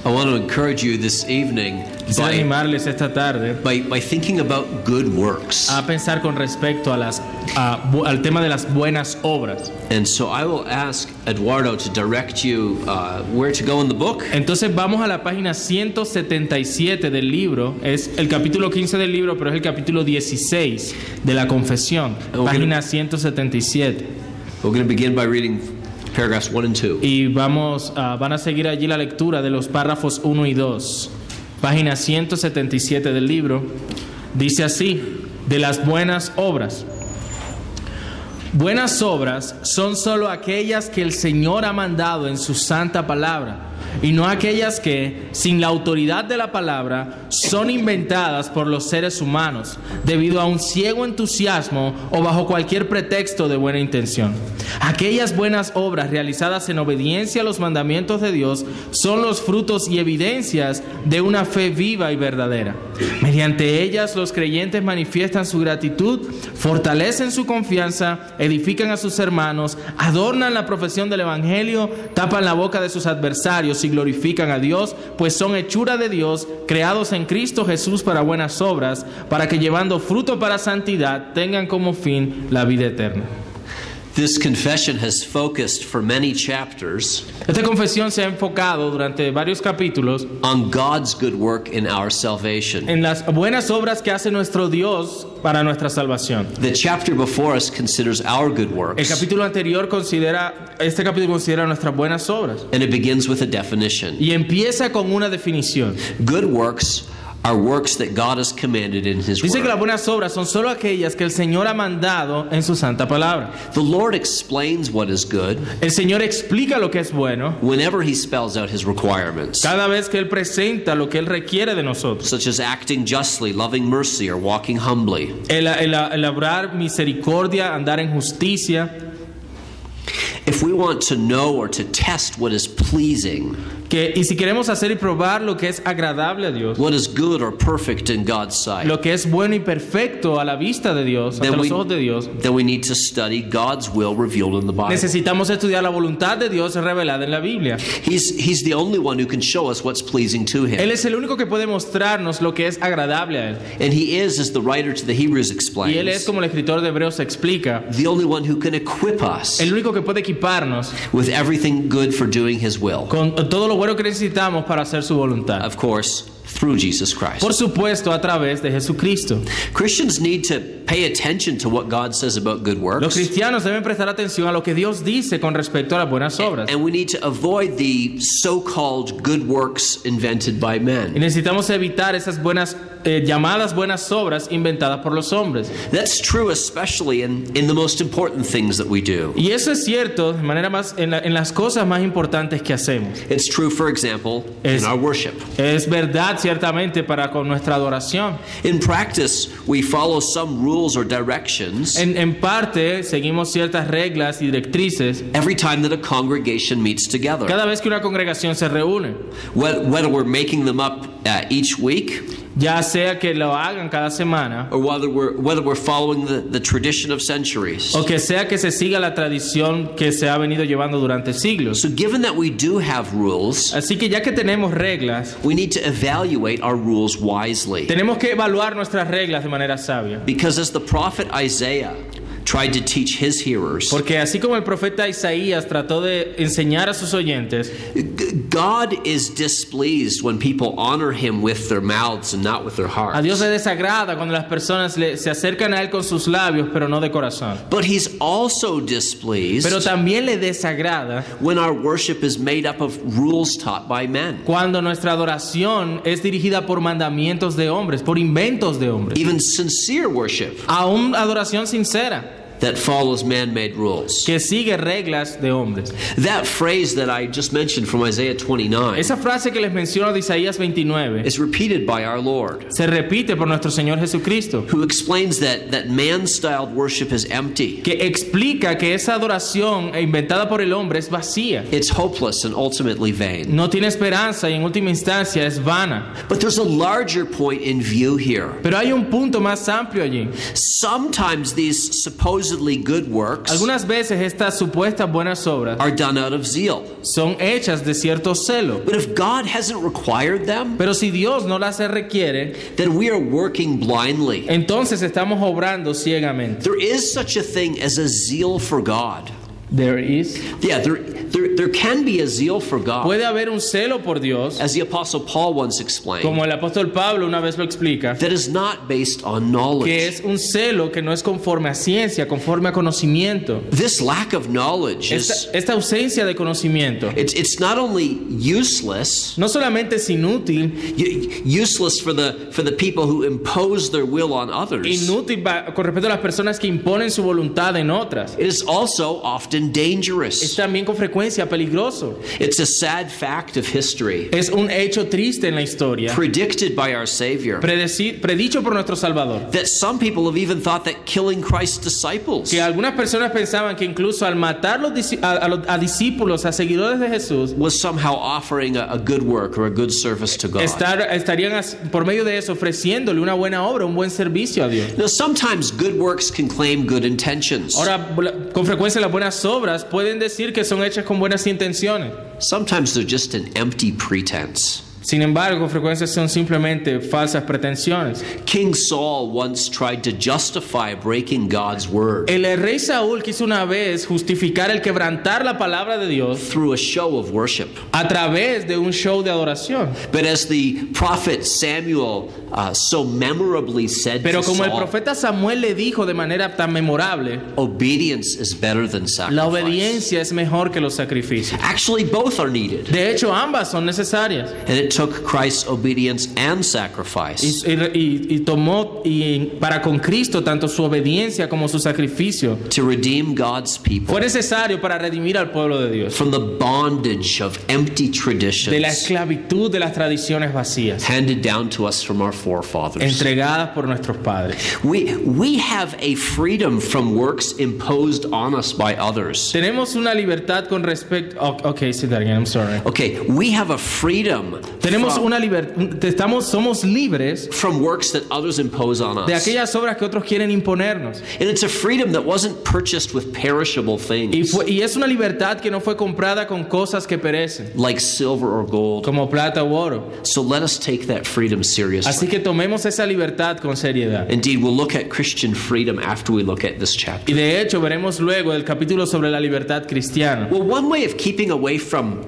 I want to encourage you this evening Quisiera animarles esta tarde by thinking about good works. a pensar con respecto a al tema de las buenas obras. And so I will ask Eduardo to direct you where to go in the book. Entonces vamos a la página 177 del libro. Es el capítulo 15 del libro, pero es el capítulo 16 de la confesión. Página 177. We're going to begin by reading paragraphs 1 and 2. Y van a seguir allí la lectura de los párrafos 1 y 2. Página 177 del libro. Dice así, de las buenas obras. Buenas obras son solo aquellas que el Señor ha mandado en su santa palabra, y no aquellas que, sin la autoridad de la palabra, son inventadas por los seres humanos, debido a un ciego entusiasmo o bajo cualquier pretexto de buena intención. Aquellas buenas obras realizadas en obediencia a los mandamientos de Dios son los frutos y evidencias de una fe viva y verdadera. Mediante ellas los creyentes manifiestan su gratitud, fortalecen su confianza, edifican a sus hermanos, adornan la profesión del Evangelio, tapan la boca de sus adversarios y glorifican a Dios, pues son hechura de Dios, creados en Cristo Jesús para buenas obras, para que llevando fruto para santidad tengan como fin la vida eterna. This confession has focused for many chapters Esta confesión se ha enfocado durante varios capítulos on God's good work in our salvation. en las buenas obras que hace nuestro Dios para nuestra salvación. The chapter before us considers our good El works, capítulo anterior este capítulo considera nuestras buenas obras and it begins with a definition. y empieza con una definición. Good works are works that God has commanded in His Dice que las Word. buenas obras son solo aquellas que el Señor ha mandado en su santa palabra. The Lord explains what is good El Señor explica lo que es bueno whenever He spells out His requirements, cada vez que Él presenta lo que Él requiere de nosotros. such as acting justly, loving mercy, or walking humbly. El obrar misericordia, andar en justicia. If we want to know or to test what is pleasing, Y si queremos hacer y probar lo que es agradable a Dios, what is good or perfect in God's sight, lo que es bueno y perfecto a la vista de Dios, ante los ojos de Dios, then we need to study God's will revealed in the Bible. necesitamos estudiar la voluntad de Dios revelada en la Biblia. He's the only one who can show us what's pleasing to Él Him. es el único que puede mostrarnos lo que es agradable a Él. And He is, as the writer to the Hebrews Y Él es, explains, como el escritor de Hebreos explica, the only one who can equip us el único que puede equiparnos with everything good for doing His will. con todo lo bueno que necesitamos para hacer su voluntad. Of course, through Jesus Christ. Por supuesto, a través de Jesucristo. Christians need to pay attention to what God says about good Los works. cristianos deben prestar atención a lo que Dios dice con respecto a las buenas obras. And we need to avoid the so-called good works invented by Y men. necesitamos evitar esas llamadas buenas obras inventadas por los hombres. That's true especially in the most important things that we do. Y eso es cierto de manera más en las cosas más importantes que hacemos. It's true, for example, in our worship. Es verdad ciertamente para con nuestra adoración. In practice, we follow some rules or directions En parte seguimos ciertas reglas y directrices every time that a congregation meets together. cada vez que una congregación se reúne. Whether we're making them up each week, Ya sea que lo hagan cada semana or whether we're following the tradition of centuries. o que sea que se siga la tradición que se ha venido llevando durante siglos. So given that we do have rules, Así que ya que tenemos reglas, we need to evaluate our rules wisely. tenemos que evaluar nuestras reglas de manera sabia. Because as the prophet Isaiah tried to teach his hearers, Porque así como el profeta Isaías trató de enseñar a sus oyentes, God is displeased when people honor Him with their mouths and not with their a Dios hearts. le desagrada cuando las personas se acercan a Él con sus labios, pero no de corazón. But He's also displeased Pero también le desagrada when our worship is made up of rules taught by men. cuando nuestra adoración es dirigida por mandamientos de hombres, por inventos de hombres. Even sincere worship Aún adoración sincera, that follows man-made rules. que sigue reglas de hombres. That phrase that I just mentioned from Isaiah 29 Esa frase que les menciono de Isaías 29 is repeated by our Lord, se repite por nuestro Señor Jesucristo, who explains that man-styled worship is empty. que explica que esa adoración inventada por el hombre es vacía, It's hopeless and ultimately vain. no tiene esperanza y en última instancia es vana. But there's a larger point in view here. Pero hay un punto más amplio allí. Sometimes these supposed supposedly good works Algunas veces estas supuestas buenas obras are done out of zeal. son hechas de cierto celo. But if God hasn't required them, Pero si Dios no las requiere, then we are working blindly. entonces estamos obrando ciegamente. There is such a thing as a zeal for God. There is. Yeah, there can be a zeal for God. Puede haber un celo por Dios, As the Apostle Paul once explained, como el apóstol Pablo una vez lo explica, that is not based on que knowledge. es un celo que no es conforme a ciencia, conforme a conocimiento. This lack of knowledge Esta ausencia de conocimiento it's not only useless, no solamente es inútil, useless for the people who impose their will on others. inútil con respecto a las personas que imponen su voluntad en otras. It is also often Es dangerous. también con frecuencia peligroso. It's a sad fact of history, Es un hecho triste en la historia, predicted by our Savior, predicho por nuestro Salvador, that some people have even thought that killing Christ's disciples que algunas personas pensaban que incluso al matar a discípulos, a seguidores de Jesús, was somehow offering a good work or a good service to God. estarían por medio de eso ofreciéndole una buena obra, un buen servicio a Dios. Now, sometimes good works can claim good intentions. Ahora, con frecuencia las buenas obras pueden decir que son hechas con buenas intenciones. Sometimes they're just an empty pretense. Sin embargo, con frecuencia son simplemente falsas pretensiones. King Saul once tried to justify breaking God's word El rey Saúl quiso una vez justificar el quebrantar la palabra de Dios through a show of worship. a través de un show de adoración. But as the prophet Samuel so memorably said Pero to como el Saul, profeta Samuel le dijo de manera tan memorable, obedience is better than la sacrifice. obediencia es mejor que los sacrificios. Actually, both are needed. De hecho, ambas son necesarias. And it took Christ's obedience and sacrifice Y tomó para con Cristo tanto su obediencia como su sacrificio. to redeem God's people Fue necesario para redimir al pueblo de Dios from the bondage of empty de la traditions esclavitud de las tradiciones vacías handed down to us from our forefathers. entregadas por nuestros padres. We have a freedom from works imposed on us by others. Tenemos una libertad con respecto. Okay, say that again. I'm sorry. Okay, we have a freedom Tenemos una libertad. Somos libres from works that others impose on de us. aquellas obras que otros quieren imponernos. And it's a freedom that wasn't purchased with perishable things Y es una libertad que no fue comprada con cosas que perecen, like silver or gold. como plata u oro. So let us take that freedom Así seriously. que tomemos esa libertad con seriedad. Indeed, we'll look at Christian freedom after we look at this chapter. Y de hecho veremos luego el capítulo sobre la libertad cristiana. Well, one way of keeping away from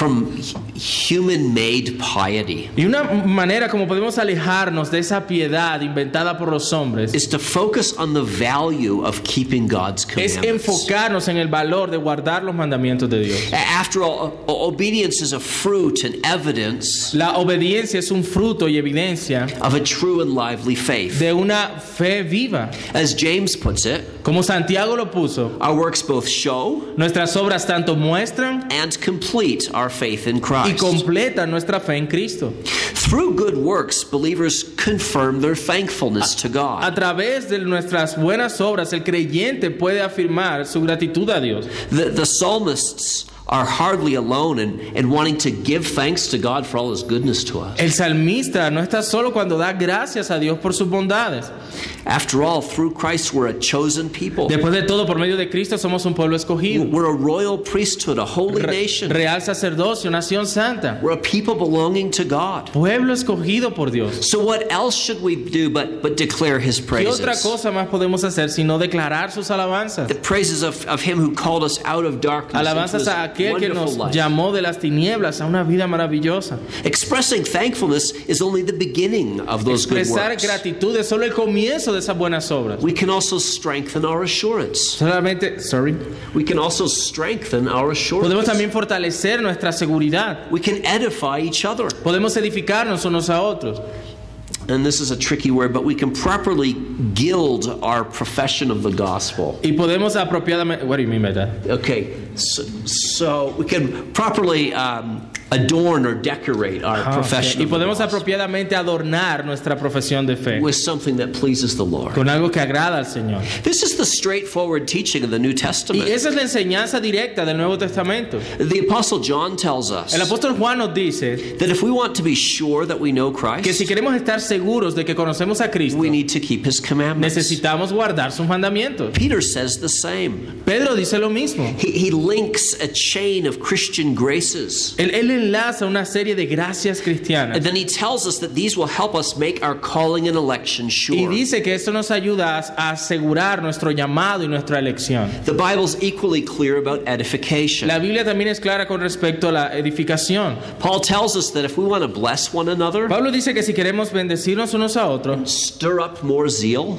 human-made piety Y una manera como podemos alejarnos de esa piedad inventada por los hombres is to focus on the value of keeping God's es commandments. enfocarnos en el valor de guardar los mandamientos de Dios. After all, obedience is a fruit and evidence La obediencia es un fruto y evidencia of a true and lively faith. de una fe viva. As James puts it, Como Santiago lo puso, our works both show nuestras obras tanto muestran and complete our faith in y Christ. completan nuestra fe en Cristo. Through good works, believers confirm their thankfulness to God. A través de nuestras buenas obras, el creyente puede afirmar su gratitud a Dios. The psalmists are hardly alone in wanting to give thanks to God for all His goodness to us. El salmista no está solo cuando da gracias a Dios por sus bondades. After all, through Christ we're a chosen people. Después de todo, por medio de Cristo somos un pueblo escogido, We're a royal priesthood, a holy nation. real sacerdocio, nación santa, We're a people belonging to God. pueblo escogido por Dios. So what else should we do but declare His ¿Qué otra praises? cosa más podemos hacer sino declarar sus alabanzas? The praises of Him who called us out of darkness into Alabanzas His a aquel que nos wonderful light. llamó de las tinieblas a una vida maravillosa. Expressing thankfulness is only the beginning of those good Expresar works. gratitud es solo el comienzo de esas buenas obras. We can also strengthen our assurance. We can also strengthen our Podemos assurance. también fortalecer nuestra seguridad. We can edify each other. Podemos edificarnos unos a otros. And this is a tricky word, but we can properly gild our profession of the gospel. Y podemos apropiadamente. What do you mean by that? Okay, so we can properly adorn or decorate our profession Y of the podemos gospel apropiadamente adornar nuestra profesión de fe with something that pleases the Lord. con algo que agrada al Señor. This is the straightforward teaching of the New Y Testament. esa es la enseñanza directa del Nuevo Testamento. The Apostle John tells us El apóstol Juan nos dice that if we want to be sure that we know que si Christ, queremos estar seguros de que conocemos a Cristo, we need to keep his commandments. necesitamos guardar sus mandamientos. Peter says the same. Pedro dice lo mismo. He links a chain of Christian graces. Él enlaza una serie de gracias cristianas. And then he tells us that these will help us make our calling and election Y sure. dice que esto nos ayuda a asegurar nuestro llamado y nuestra elección. The Bible's equally clear about edification. La Biblia también es clara con respecto a la edificación. Paul tells us that if we want to bless one another, Pablo dice que si queremos bendecirnos unos a otros stir up more zeal,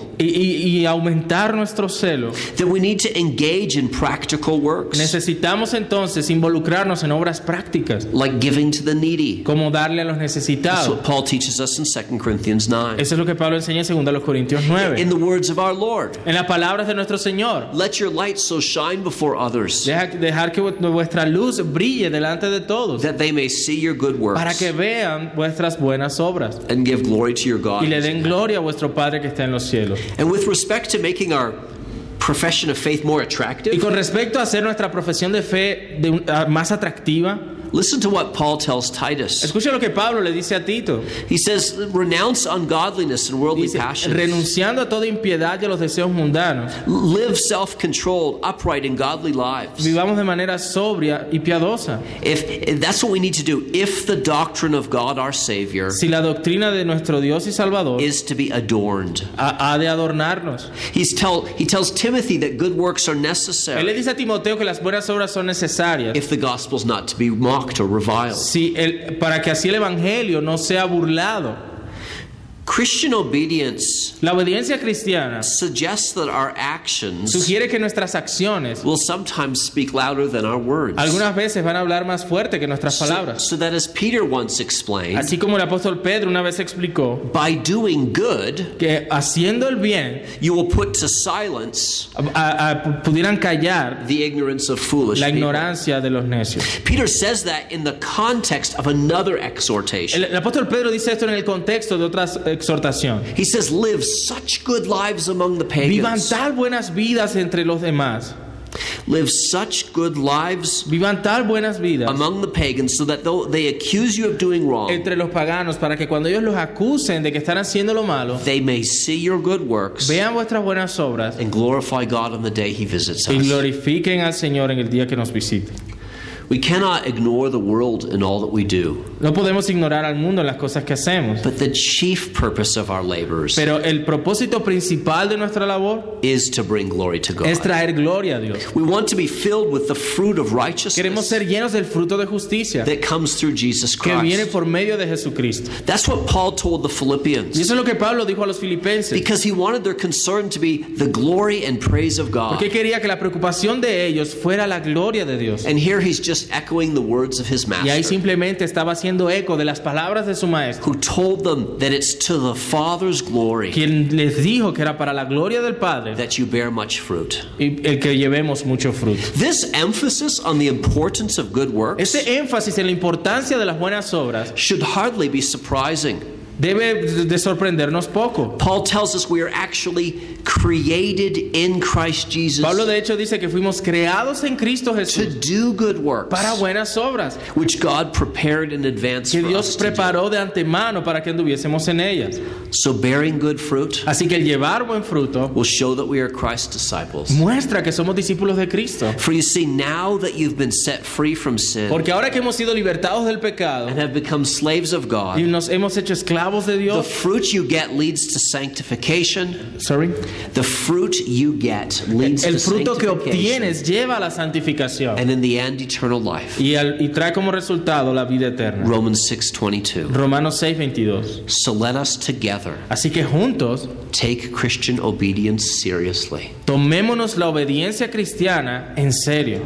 y aumentar nuestro celo, then we need to engage in practical works, necesitamos entonces involucrarnos en obras prácticas, like giving to the needy. como darle a los That's necesitados. what Paul teaches us in 2 Corinthians 9. Eso es lo que Pablo enseña en 2 Corintios 9. In the words of our Lord, En las palabras de nuestro Señor, let your light so shine before others, dejar que vuestra luz brille delante de todos, that they may see your good works para que vean vuestras buenas obras and give glory to your God. y le den gloria a vuestro Padre que está en los cielos. And with respect to making our profession of faith more Y attractive, con respecto a hacer nuestra profesión de fe más atractiva, listen to what Paul tells Titus. escucha lo que Pablo le dice a Tito. He says, renounce ungodliness and worldly Dice, passions. renunciando a toda impiedad y a los deseos mundanos, Live self-controlled, upright, and godly lives. vivamos de manera sobria y piadosa. If that's what we need to do, if the doctrine of God our Savior Si la doctrina de nuestro Dios y Salvador is to be adorned. ha de adornarnos. He tells Timothy that good works are Él le necessary dice a Timoteo que las buenas obras son necesarias if the gospel's not to be mocked or reviled. para que así el evangelio no sea burlado. Christian obedience La obediencia cristiana suggests that our actions sugiere que nuestras acciones will sometimes speak louder than our words. algunas veces van a hablar más fuerte que nuestras palabras. So that as Peter once explained, Así como el apóstol Pedro una vez explicó by doing good, que haciendo el bien you will put to silence pudieran callar the ignorance of foolish la people. ignorancia de los necios. Peter says that in the context of another exhortation. El apóstol Pedro dice esto en el contexto de otras exhortación. He says, live such good lives among the Vivan pagans. tal buenas vidas entre los demás. Live such good lives Vivan tal buenas vidas among the pagans so that though they accuse you of doing wrong, entre los paganos para que cuando ellos los acusen de que están haciendo lo malo, they may see your good works vean vuestras buenas obras and glorify God on the day he visits y us. glorifiquen al Señor en el día que nos visite. We cannot ignore the world in all that we do, No podemos ignorar al mundo en las cosas que hacemos, but the chief purpose of our labors pero el propósito principal de nuestra labor is to bring glory to es God. traer gloria a Dios. We want to be filled with the fruit of Queremos righteousness ser llenos del fruto de justicia that comes through Jesus que viene Christ. por medio de Jesucristo. That's what Paul told the Y Philippians, eso es lo que Pablo dijo a los filipenses, because he wanted their concern to be the glory and praise of God. porque quería que la preocupación de ellos fuera la gloria de Dios. And here he's just echoing the words of his Y ahí master, simplemente estaba haciendo eco de las palabras de su maestro, who told them that it's to the Father's glory quien les dijo que era para la gloria del Padre that you bear much fruit. y el que llevemos mucho fruto. This emphasis on the importance of good works Este énfasis en la importancia de las buenas obras should hardly be surprising. debe de sorprendernos poco. Paul tells us we are actually created in Christ Jesus Pablo de hecho dice que fuimos creados en Cristo to Jesús do good works, para buenas obras which God prepared in advance que for Dios us to do. preparó de antemano para que anduviésemos en ellas. So bearing good fruit Así que el llevar buen fruto will show that we are Christ's disciples. muestra que somos discípulos de Cristo. For you see, now that you've been set free from sin Porque ahora que hemos sido libertados del pecado and have become slaves of y God, nos hemos hecho esclavos de the Dios, fruit you get leads to sanctification. sorry, The fruit you get leads el to fruto que sanctification, obtienes lleva a la santificación and in the end, eternal life. y trae como resultado la vida eterna. Romans 6:22. Romanos 6:22. So let us together Así que juntos take Christian obedience seriously. tomémonos la obediencia cristiana en serio.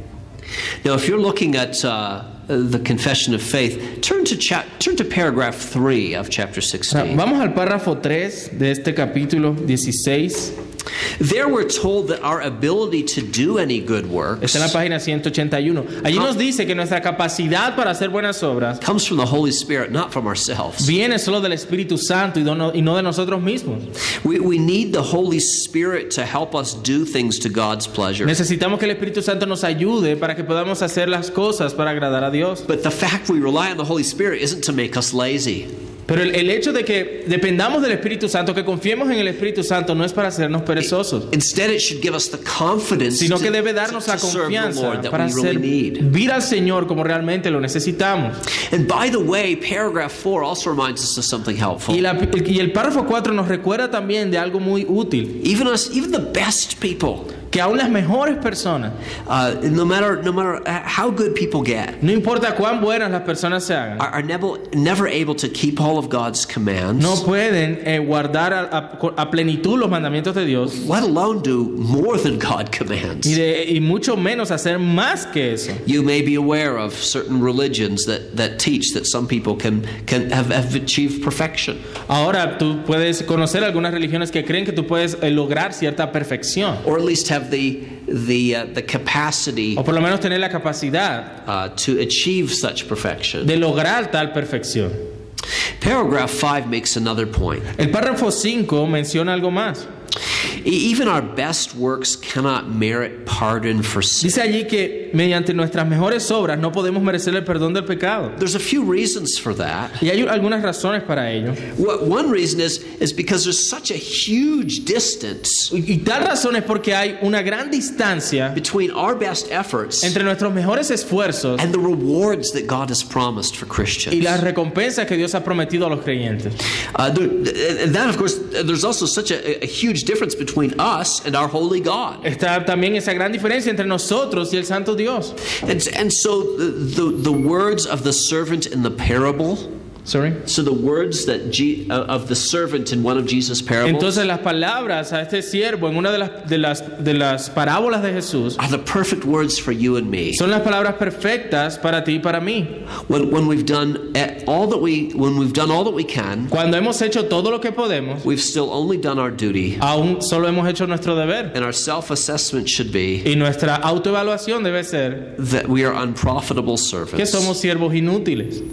Now, if you're looking at the Confession of Faith, turn to paragraph 3 of chapter O sea, 16. vamos al párrafo 3 de este capítulo 16. There we're told that our ability to do any good works Está en la página 181. Allí nos dice que nuestra capacidad para hacer buenas obras comes from the Holy Spirit, not from ourselves. viene solo del Espíritu Santo y no de nosotros mismos. We need the Holy Spirit to help us do things to God's pleasure. Necesitamos que el Espíritu Santo nos ayude para que podamos hacer las cosas para agradar a Dios. But the fact we rely on the Holy Spirit isn't to make us lazy. Pero el hecho de que dependamos del Espíritu Santo, que confiemos en el Espíritu Santo, no es para hacernos perezosos, Instead, it should give us the confidence sino que debe to darnos la serve the confianza Lord that para we really need. servir al Señor como realmente lo necesitamos. And by the way, paragraph 4 also reminds us of something helpful. Y el párrafo 4 nos recuerda también de algo muy útil, Even the best people, que aún las mejores personas, no matter how good people get, no importa cuán buenas las personas se hagan, are never able to keep all of God's commands, no pueden guardar a plenitud los mandamientos de Dios, let alone do more than God commands. y mucho menos hacer más que eso. You may be aware of certain religions that teach that some people can have achieved perfection. Ahora tú puedes conocer algunas religiones que creen que tú puedes lograr cierta perfección, Or at least have the capacity o por lo menos tener la capacidad to achieve such perfection. de lograr tal perfección. Paragraph 5 makes another point. El párrafo 5 menciona algo más. Even our best works cannot merit pardon for sin. Dice allí que mediante nuestras mejores obras no podemos merecer el perdón del pecado. There's a few reasons for that. Y hay algunas razones para ello. One reason is because there's such a huge distance Y tal razón es porque hay una gran distancia between our best efforts entre nuestros mejores esfuerzos and the rewards that God has promised for y Christians. las recompensas que Dios ha prometido a los creyentes. And that, of course, there's also such a huge difference between us and our holy God. Está también esa gran diferencia entre nosotros y el Santo Dios. And so the words of the servant in the parable, Sorry. so the words that of the servant in one of Jesus' parables Entonces las palabras a este siervo en una de las parábolas de Jesús are the perfect words for you and me. son las palabras perfectas para ti y para mí. When we've done all that we can, Cuando hemos hecho todo lo que podemos, we've still only done our duty, aún solo hemos hecho nuestro deber. and our self-assessment should be Y nuestra autoevaluación debe ser that we are unprofitable que servants. somos siervos inútiles.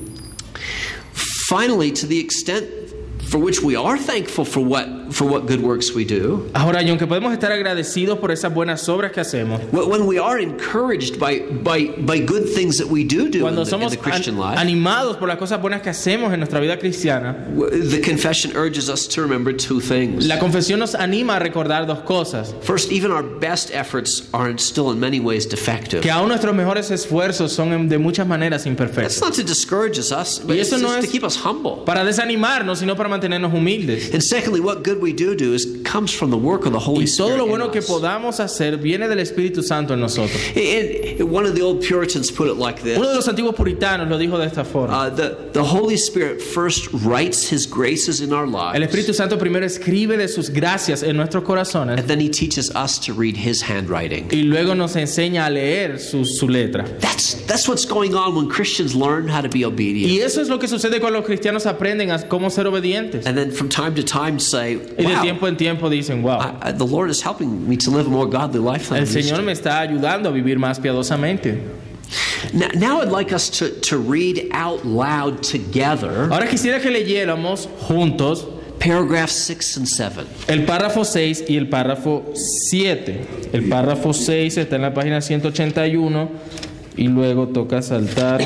Finally, to the extent for which we are thankful for what good works we do, Ahora, y aunque podemos estar agradecidos por esas buenas obras que hacemos, when we are encouraged by good things that we do in cuando the somos Christian life, animados por las cosas buenas que hacemos en nuestra vida cristiana, the confession urges us to remember two things. la confesión nos anima a recordar dos cosas: First, even our best efforts are still in many ways defective. que aún nuestros mejores esfuerzos son de muchas maneras That's imperfectos. not to discourage us, but Y it's eso no just to es keep us humble. para desanimarnos, sino para mantenernos humildes. And secondly, what good we do comes from the work of the Holy Y todo Spirit lo in bueno que us. podamos hacer viene del Espíritu Santo en nosotros. One of the old Puritans put it like this. Uno de los antiguos puritanos lo dijo de esta forma: The Holy Spirit first writes His graces in our el lives, Espíritu Santo primero escribe de sus gracias en nuestros corazones and then He teaches us to read His handwriting. y luego nos enseña a leer su letra. That's what's going on when Christians learn how to be obedient. Y eso es lo que sucede cuando los cristianos aprenden a cómo ser obedientes. And then from time to time say, Y de wow, tiempo en tiempo dicen: wow, the Lord is helping me to live a more godly life than I el used Señor to. me está ayudando a vivir más piadosamente. Now I'd like us to read out loud together Ahora quisiera que leyéramos juntos paragraphs 6 and 7. el párrafo 6 y el párrafo 7. El párrafo 6 está en la página 181 y luego toca saltar.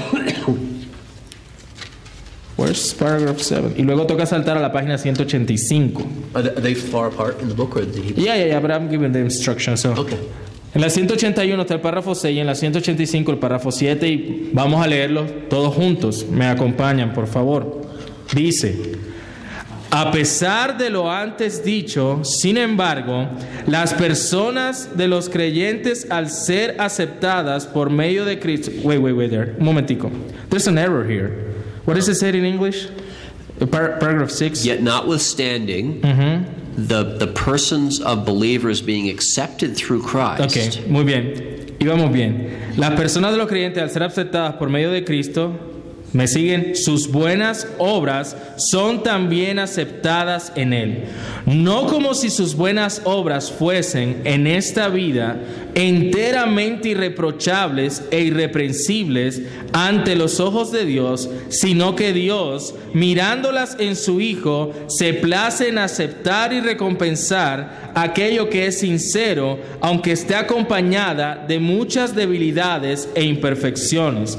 Where's paragraph 7? Y luego toca saltar a la página 185. Are they far apart in the book or the Yeah, but I'm giving the instructions. So. Okay. En la 181 está el párrafo 6 y en la 185 el párrafo 7 y vamos a leerlos todos juntos. Me acompañan, por favor. Dice: a pesar de lo antes dicho, sin embargo, las personas de los creyentes al ser aceptadas por medio de Cristo... Wait there. Un momentico. There's an error here. What does it say in English? Paragraph 6. Yet notwithstanding the persons of believers being accepted through Christ. Ok, muy bien. Y vamos bien. Las personas de los creyentes al ser aceptadas por medio de Cristo, ¿me siguen? Sus buenas obras son también aceptadas en Él. No como si sus buenas obras fuesen en esta vida enteramente irreprochables e irreprensibles ante los ojos de Dios, sino que Dios, mirándolas en su Hijo, se place en aceptar y recompensar aquello que es sincero, aunque esté acompañada de muchas debilidades e imperfecciones.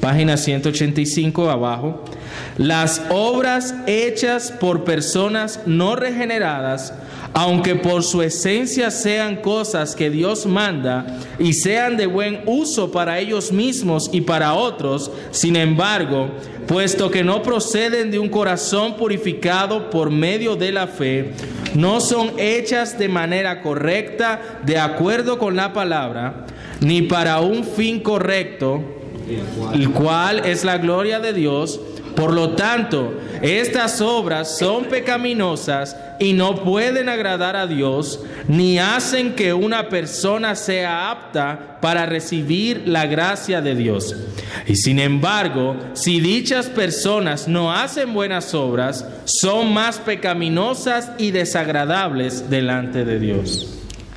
página 185 abajo. Las obras hechas por personas no regeneradas, aunque por su esencia sean cosas que Dios manda y sean de buen uso para ellos mismos y para otros, sin embargo, puesto que no proceden de un corazón purificado por medio de la fe, no son hechas de manera correcta, de acuerdo con la palabra, ni para un fin correcto, el cual es la gloria de Dios. Por lo tanto, estas obras son pecaminosas y no pueden agradar a Dios, ni hacen que una persona sea apta para recibir la gracia de Dios. Y sin embargo, si dichas personas no hacen buenas obras, son más pecaminosas y desagradables delante de Dios.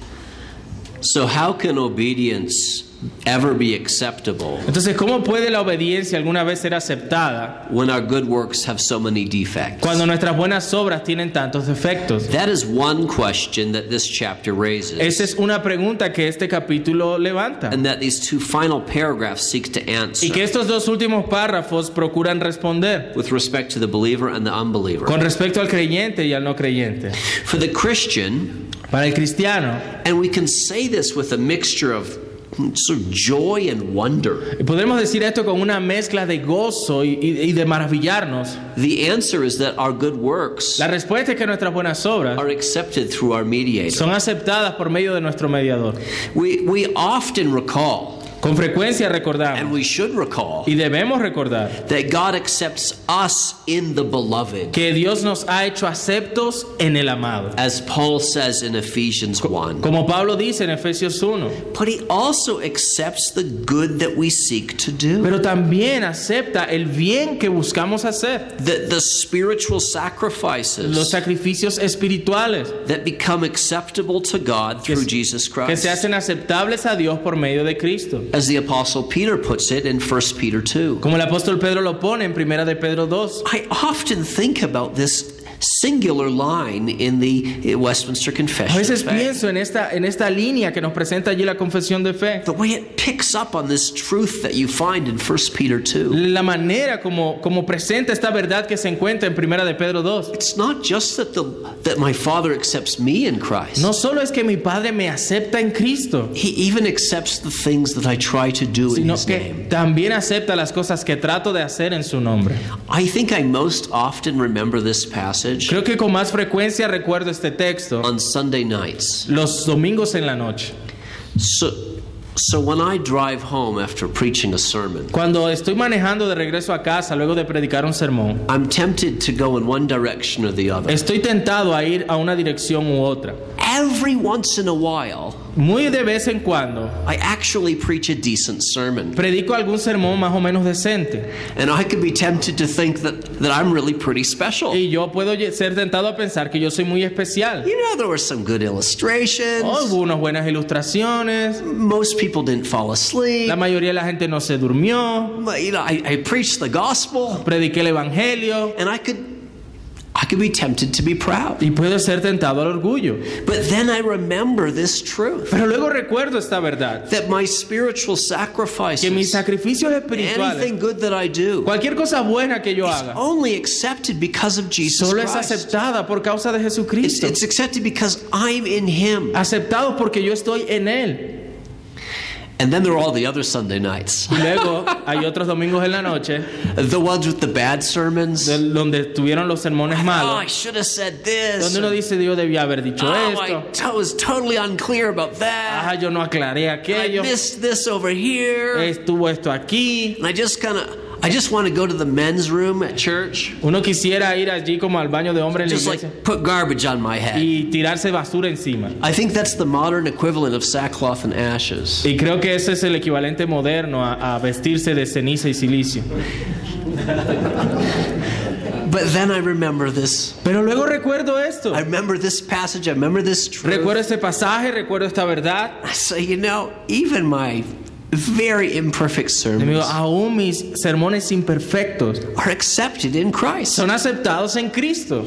So how can obedience ever be acceptable Entonces, ¿cómo puede la obediencia alguna vez ser aceptada when our good works have so many defects? cuando nuestras buenas obras tienen tantos defectos? That is one question that this chapter raises, Esa es una pregunta que este capítulo levanta and that these two final paragraphs seek to y answer que estos dos últimos párrafos procuran responder with respect to the believer and the unbeliever. con respecto al creyente y al no creyente. For the Christian, Para el cristiano, and we can say this with a mixture of sort of joy and wonder, y podemos decir esto con una mezcla de gozo y de maravillarnos. the answer is that our good works La respuesta es que nuestras buenas obras are accepted through our mediator. son aceptadas por medio de nuestro mediador. We often recall, Con frecuencia and recordamos we should recall, y debemos recordar that God accepts us in the beloved. que Dios nos ha hecho aceptos en el amado. As Paul says in Ephesians 1. Como Pablo dice en Efesios 1. But he also accepts the good that we seek to do. Pero también acepta el bien que buscamos hacer. The spiritual Los sacrifices sacrificios espirituales that become acceptable to God through Jesus que se Christ. hacen aceptables a Dios por medio de Cristo. As the Apostle Peter puts it in 1 Peter 2. Como el apóstol Pedro lo pone en Primera de Pedro 2. I often think about this singular line in the Westminster A Confession of veces Faith. pienso en esta línea que nos presenta allí la confesión de fe. The way it picks up on this truth that you find in 1 Peter 2. La manera como presenta esta verdad que se encuentra en Primera de Pedro 2. It's not just that my Father accepts me in Christ. No solo es que mi Padre me acepta en Cristo, He even accepts the things that I try to do in sino His que name. también acepta las cosas que trato de hacer en su nombre. I think I most often remember this passage Creo que con más frecuencia recuerdo este texto on Sunday nights. los domingos en la noche. So when I drive home after preaching a sermon, Cuando estoy manejando de regreso a casa luego de predicar un sermón, I'm tempted to go in one direction or the other. estoy tentado a ir a una dirección u otra. Every once in a while, Muy de vez en cuando I actually preach a decent sermon. predico algún sermón más o menos decente And I could be tempted to think that I'm really pretty special. y yo puedo ser tentado a pensar que yo soy muy especial. You know, there were some good illustrations. Hubo unas buenas ilustraciones, Most people didn't fall asleep. la mayoría de la gente no se durmió, You know, I preached the gospel, prediqué el evangelio and I could be tempted to be proud. y puedo ser tentado al orgullo. But then I remember this truth, Pero luego recuerdo esta verdad, that my spiritual que mis sacrifices, sacrificios espirituales, anything good that I do, cualquier cosa buena que yo is haga, only accepted because of Jesus solo es Christ. aceptada por causa de Jesucristo. It's accepted because I'm in Him. Aceptado porque yo estoy en Él. And then there are all the other Sunday nights. Y luego hay otros domingos en la noche The ones with the bad sermons. donde tuvieron los sermones Oh, I malos, should have said this. donde uno dice, Dios debía haber dicho esto. I was totally unclear about Ah, that. yo no aclaré I aquello. missed this over here. Estuvo esto aquí. And I just want to go to the men's room at church. Uno quisiera ir allí como al baño de hombre en la Just iglesia like put garbage on my head. y tirarse basura encima. I think that's the modern equivalent of sackcloth and ashes. Y creo que ese es el equivalente moderno a vestirse de ceniza y silicio. But then I remember this. Pero luego recuerdo esto. I remember this passage. I remember this truth. Recuerdo este pasaje, recuerdo esta verdad. I say, you know, even my very imperfect Amigo, sermons aún mis sermones imperfectos are accepted in Christ. son aceptados en Cristo.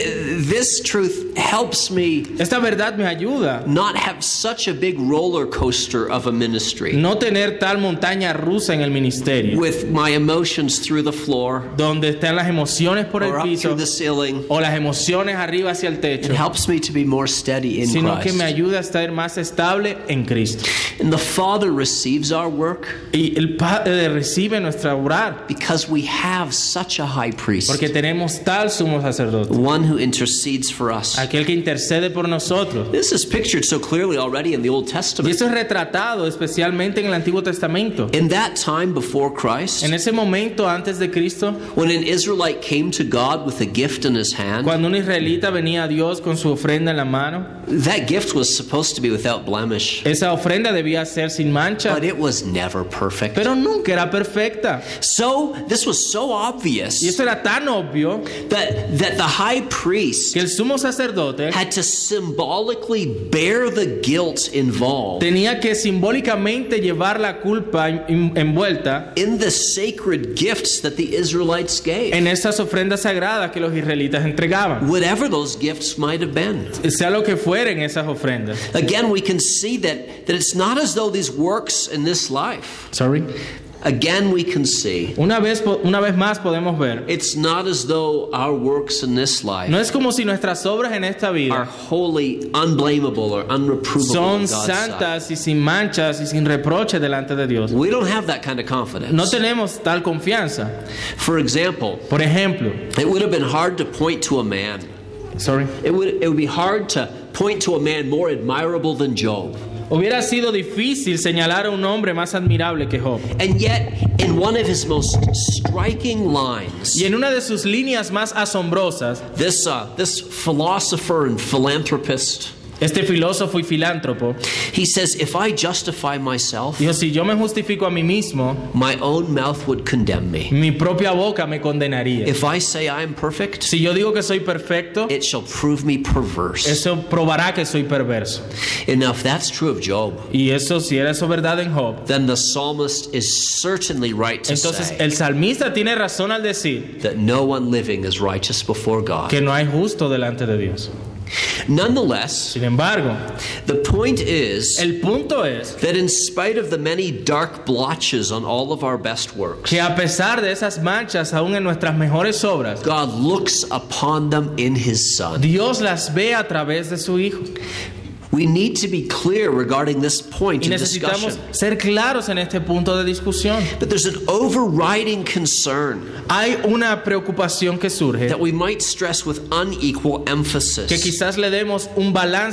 This truth helps me Esta verdad me ayuda not have such a big roller coaster of a ministry no tener tal montaña rusa en el ministerio, with my emotions through the floor donde están las emociones por or el up piso through the ceiling. o las emociones arriba hacia el It techo, helps me to be more steady in sino que me Christ. ayuda a estar más estable en Cristo. And the Father receives our work Y el Padre recibe nuestra orar because we have such a high priest, porque tenemos tal sumo sacerdote, one who intercedes for us. aquel que intercede por nosotros. This is pictured so clearly already in the Old Y Testament. eso es retratado especialmente en el Antiguo Testamento. In that time before Christ, En ese momento antes de Cristo, when an Israelite came to God with a gift in his hand, cuando un israelita venía a Dios con su ofrenda en la mano, that gift was supposed to be without blemish, esa ofrenda debía ser sin mancha, but it was never perfect. pero nunca era perfecta. So this was so Y obvious esto era tan obvio that the high priest que el sumo sacerdote had to symbolically bear the guilt involved tenía que simbólicamente llevar la culpa envuelta in the sacred gifts that the Israelites gave, en esas ofrendas sagradas que los israelitas entregaban, whatever those gifts might have been. sea lo que fueren esas ofrendas. Again, we can see that it's not as though these works in this life. Sorry. Again, we can see Una vez más podemos ver, it's not as though our works in this life no es como si nuestras obras en esta are vida wholly unblameable or unreprovable son in God's sight. santas y sin manchas y sin reproche delante de Dios. We don't have that kind of confidence. No tenemos tal confianza. For example, Por ejemplo, it would have been hard to point to a man. It would be hard to point to a man more admirable than Job. hubiera sido difícil señalar a un hombre más admirable que Job. And yet, in one of his most striking lines, Y en una de sus líneas más asombrosas, this philosopher and philanthropist, este filósofo y filántropo he says, if I justify myself, dijo, si yo me justifico a mí mismo, my own mouth would condemn me. mi propia boca me condenaría. If I say I am perfect, Si yo digo que soy perfecto, it shall prove me perverse. eso probará que soy perverso. And now if that's true of Job, Y eso, si era eso verdad en Job, then the psalmist is certainly right to entonces say el salmista tiene razón al decir that no one living is righteous before God. que no hay justo delante de Dios. Nonetheless, Sin embargo, the point is el punto es that in spite of the many dark blotches on all of our best works, que a pesar de esas manchas aún en nuestras mejores obras, God looks upon them in His Son. Dios las ve a través de su Hijo. We need to be clear regarding this point Y in necesitamos discussion. ser claros en este punto de discusión. But there's an overriding concern Hay una preocupación que surge that we might stress with unequal que emphasis. quizás le demos un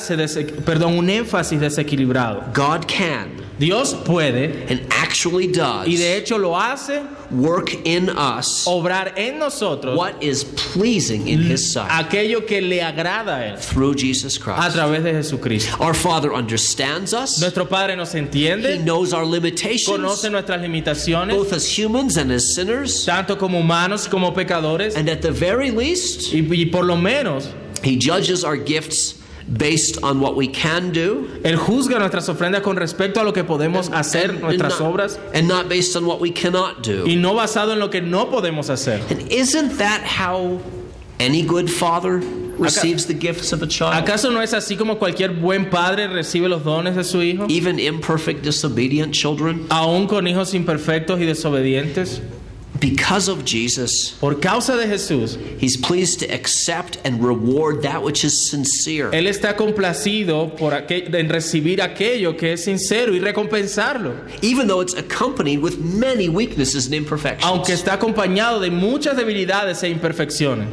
un énfasis desequilibrado. God can Dios puede and actually does y de hecho lo hace work in us obrar en nosotros what is pleasing in His sight aquello que le agrada a Él through Jesus a Christ. través de Jesucristo. Our Father understands us. Nuestro Padre nos He entiende, knows our limitations, conoce nuestras limitaciones, both as humans and as sinners. tanto como humanos como pecadores, And at the very least, y por lo menos He judges our gifts based on what we can do Él juzga nuestras ofrendas con respecto a lo que podemos hacer, nuestras obras, and not based on what we cannot do. y no basado en lo que no podemos hacer. And isn't that how any good father receives the gifts of a child? ¿Acaso no es así como cualquier buen padre recibe los dones de su hijo? Even imperfect, disobedient children? Aún con hijos imperfectos y desobedientes. Because of Jesus, Por causa de Jesús, He's pleased to accept and reward that which is sincere. Él está complacido en recibir aquello que es sincero y recompensarlo, Even though it's accompanied with many weaknesses and imperfections. aunque está acompañado de muchas debilidades e imperfecciones.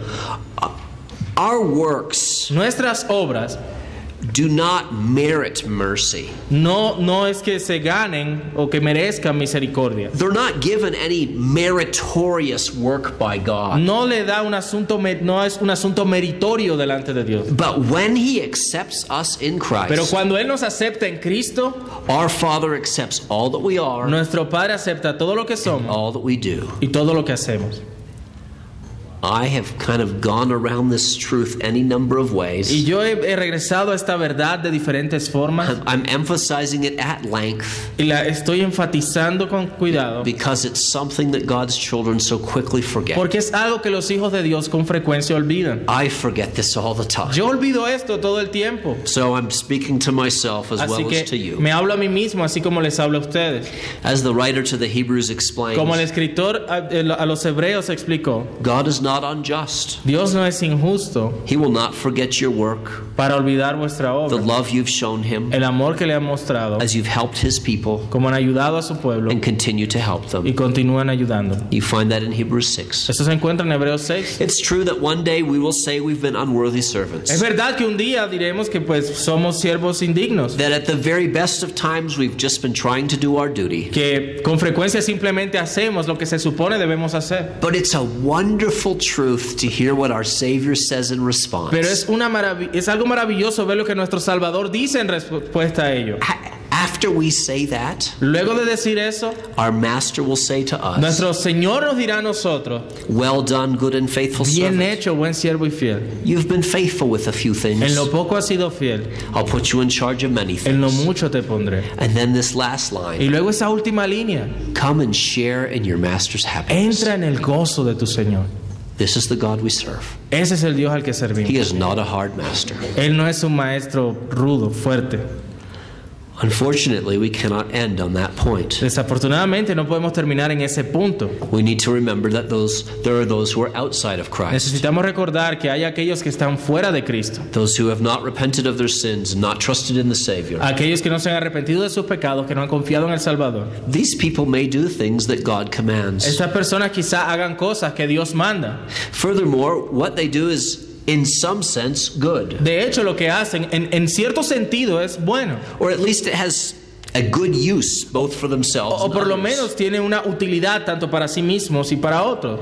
Our works Nuestras obras do not merit mercy. no es que se ganen o que merezcan misericordia. They're not given any meritorious work by God. No le da no es un asunto meritorio delante de Dios. But when He accepts us in Pero Christ, cuando Él nos acepta en Cristo, our Father accepts all that we are, nuestro Padre acepta todo lo que somos all that we do. y todo lo que hacemos. I have kind of gone around this truth any number of ways. Y yo he regresado a esta verdad de diferentes formas. I'm emphasizing it at length Y la estoy enfatizando con cuidado. because it's something that God's children so quickly forget. Porque es algo que los hijos de Dios con frecuencia olvidan. I forget this all the time. Yo olvido esto todo el tiempo. So I'm speaking to myself as Así well as to que you. me hablo a mí mismo, así como les hablo a ustedes. As the writer to the Hebrews explains, Como el escritor a los hebreos explicó, God is not unjust. Dios no es injusto He will not forget your work, para olvidar vuestra the obra, love you've shown him el amor que le han mostrado, as you've helped his people como han ayudado a su pueblo and continue to help them. y continúan ayudando. You find that in Hebrews 6. Esto se encuentra en Hebreos 6. It's true that one day we will say we've been unworthy servants. Es verdad que un día diremos que pues somos siervos indignos, That at the very best of times we've just been trying to do our duty. que con frecuencia simplemente hacemos lo que se supone debemos hacer. But it's a wonderful truth to hear what our Savior says in response. Pero es algo maravilloso ver lo que nuestro Salvador dice en respuesta a ello. After we say that, Luego de decir eso, our Master will say to us, nuestro Señor nos dirá a nosotros, well done, good and faithful bien servant. hecho, buen siervo y fiel. You've been faithful with a few En things. lo poco has sido fiel, I'll put you in charge of many en lo things. mucho te pondré. And then this last Y line, luego esa última línea, come and share in your Master's happiness. entra en el gozo de tu Señor. This is the God we serve. Ese es el Dios al que He servimos. is not a hard master. Él no es un maestro rudo, fuerte. Unfortunately, we cannot end on that point. Desafortunadamente no podemos terminar en ese punto. We need to remember that there are those who are outside of Christ, Necesitamos recordar que hay aquellos que están fuera de Cristo, those who have not repented of their sins, not trusted in the Savior. aquellos que no se han arrepentido de sus pecados, que no han confiado en el Salvador. These people may do things that God commands. Estas personas quizá hagan cosas que Dios manda. Furthermore, what they do is, in some sense, good, De hecho, lo que hacen en cierto sentido es bueno, or at least it has a good use both for themselves o and por lo others. menos tiene una utilidad tanto para sí mismos y para otros.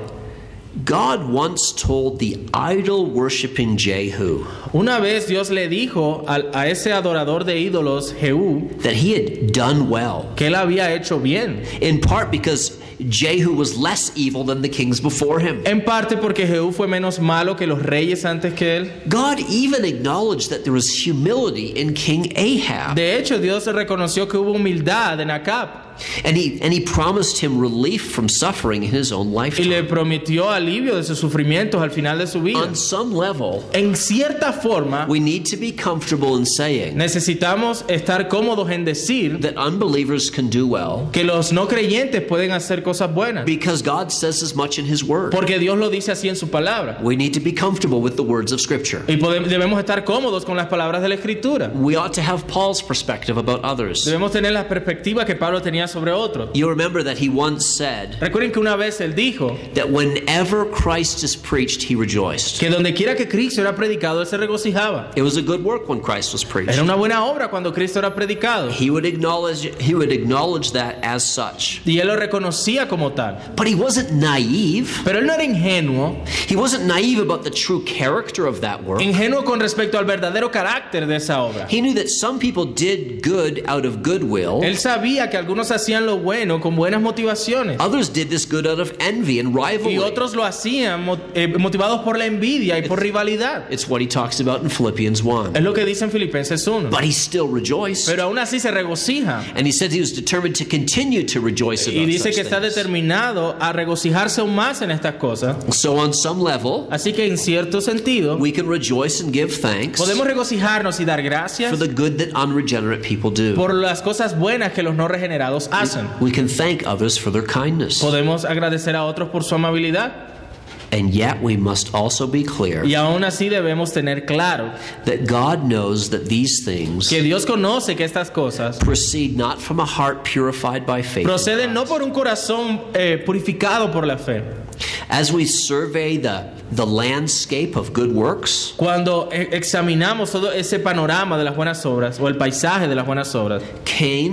God once told the idol-worshipping Jehu Una vez Dios le dijo a ese adorador de ídolos, Jehú, that he had done well, que él había hecho bien. in part because Jehu was less evil than the kings before him. En parte porque Jehú fue menos malo que los reyes antes que él. God even acknowledged that there was humility in King Ahab, De hecho, Dios reconoció que hubo humildad en Acab and he promised him relief from suffering in his own y le lifetime. prometió alivio de sus sufrimientos al final de su vida. On some level, En cierta forma, we need to be comfortable in saying necesitamos estar cómodos en decir that unbelievers can do well que los no creyentes pueden hacer cosas buenas, because God says as much in His Word. porque Dios lo dice así en su palabra. We need to be comfortable with the words of Scripture. Y debemos estar cómodos con las palabras de la Escritura. We ought to have Paul's perspective about others. Debemos tener la perspectiva que Pablo tenía sobre otros. You remember that he once said Recuerden que una vez él dijo that whenever Christ is preached, he rejoiced. que donde quiera que Cristo era predicado, él se regocijaba. It was a good work when Christ was preached. Era una buena obra cuando Cristo era predicado. He would acknowledge that as such. Y él lo reconocía como tal. But he wasn't naive. Pero él no era ingenuo. He wasn't naive about the true character of that work. Ingenuo con respecto al verdadero carácter de esa obra. He knew that some people did good out of goodwill. Él sabía que algunos hacían lo bueno con buenas motivaciones. Others did this good out of envy and Y rivalry. otros lo hacían motivados por la envidia y por rivalidad. It's what he talks about in Philippians 1. Es lo que dice en Filipenses 1. But he still rejoiced. Pero aún así se regocija. And he said he was determined to continue to rejoice Y about dice such que está things. determinado a regocijarse aún más en estas cosas. So on some level, Así que en cierto sentido, we can rejoice and give thanks podemos regocijarnos y dar gracias for the good that unregenerate people do. por las cosas buenas que los no regenerados hacen. We can thank others for their kindness. Podemos agradecer a otros por su amabilidad. And yet we must also be clear Y aún así debemos tener claro that God knows that these things que Dios conoce que estas cosas proceed not from a heart purified by faith. proceden no por un corazón purificado por la fe. As we survey the landscape of good works, Cuando examinamos todo ese panorama de las buenas obras o el paisaje de las buenas obras, Cain's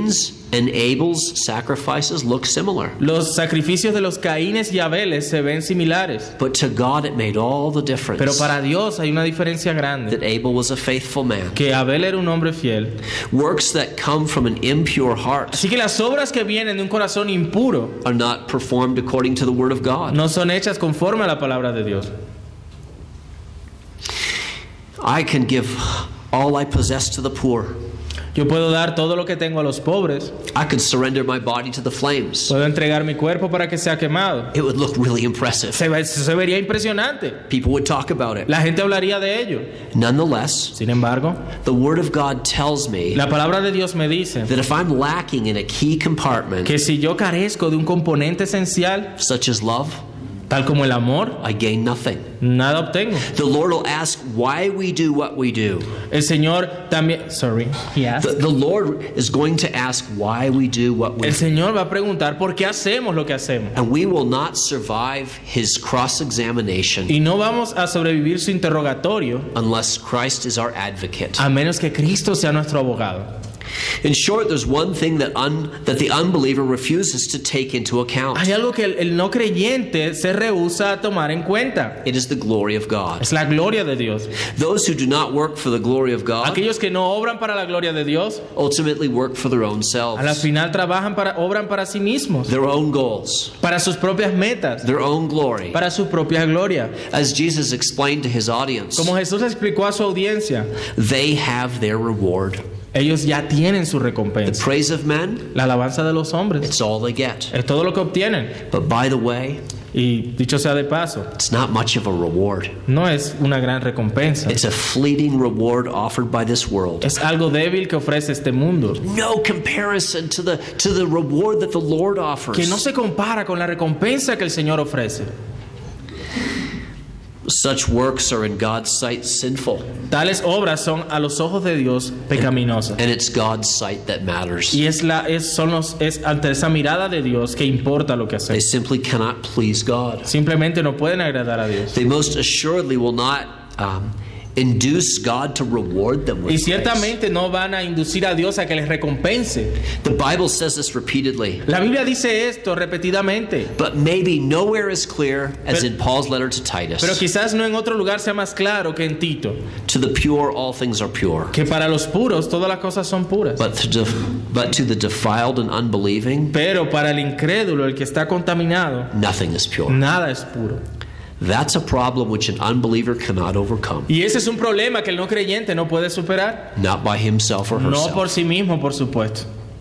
and Abel's sacrifices look similar. Los sacrificios de los Caínes y Abeles se ven similares, But to God it made all the difference pero para Dios hay una diferencia grande, that Abel was a faithful man. que Abel era un hombre fiel. Works that come from an impure heart Así que las obras que vienen de un corazón impuro are not performed according to the word of God. no son hechas conforme a la palabra de Dios. I can give all I possess to the poor. Yo puedo dar todo lo que tengo a los pobres, I could surrender my body to the flames. puedo entregar mi cuerpo para que sea quemado. It would look really impressive. Se vería impresionante. People would talk about it. La gente hablaría de ello. Nonetheless, Sin embargo, the word of God tells me la palabra de Dios me dice that if I'm lacking in a key compartment, que si yo carezco de un componente esencial, such as love, tal como el amor, I gain nothing. nada obtengo. The Lord will ask why we do what we do. El Señor también, The Lord is going to ask why we do what we el do. Señor va a preguntar por qué hacemos lo que hacemos. And we will not survive his cross-examination Y no vamos a sobrevivir su interrogatorio unless Christ is our advocate. a menos que Cristo sea nuestro abogado. In short, there's one thing that the unbeliever refuses to take into account. Hay algo que el no creyente se rehúsa a tomar en cuenta. It is the glory of God. Es la gloria de Dios. Those who do not work for the glory of God Aquellos que no obran para la gloria de Dios, ultimately work for their own a la selves, final obran para sí mismos, their own goals, para sus propias metas, their own glory. para su propia gloria. As Jesus explained to his audience, Como Jesús explicó a su audiencia, they have their reward. ellos ya tienen su The recompensa. praise of men, La alabanza de los hombres it's all they get. es todo lo que obtienen. But by the way, Y dicho sea de paso, it's not much of a reward. no es una gran recompensa. It's a fleeting reward offered by this world. Es algo débil que ofrece este mundo, No comparison to the reward that the Lord offers. que no se compara con la recompensa que el Señor ofrece. Such works are in God's sight sinful, Tales obras son a los ojos de Dios pecaminosas. and it's God's sight that matters. Y es ante esa mirada de Dios que importa lo que They hacemos. simply cannot please God. Simplemente no pueden agradar a Dios. They most assuredly will not induce God to reward them Y with praise. ciertamente no van a inducir a Dios a que les recompense. The Bible says this repeatedly, La Biblia dice esto repetidamente, but maybe nowhere as clear as Pero- in Paul's letter to pero Titus. quizás no en otro lugar sea más claro que en Tito, To the pure, all things are pure. que para los puros todas las cosas son puras. But to the defiled and unbelieving, Pero para el incrédulo, el que está contaminado, nothing is pure. nada es puro. That's a problem which an unbeliever cannot overcome, Y ese es un problema que el no creyente no puede superar. not by himself or No herself. por sí mismo, por supuesto.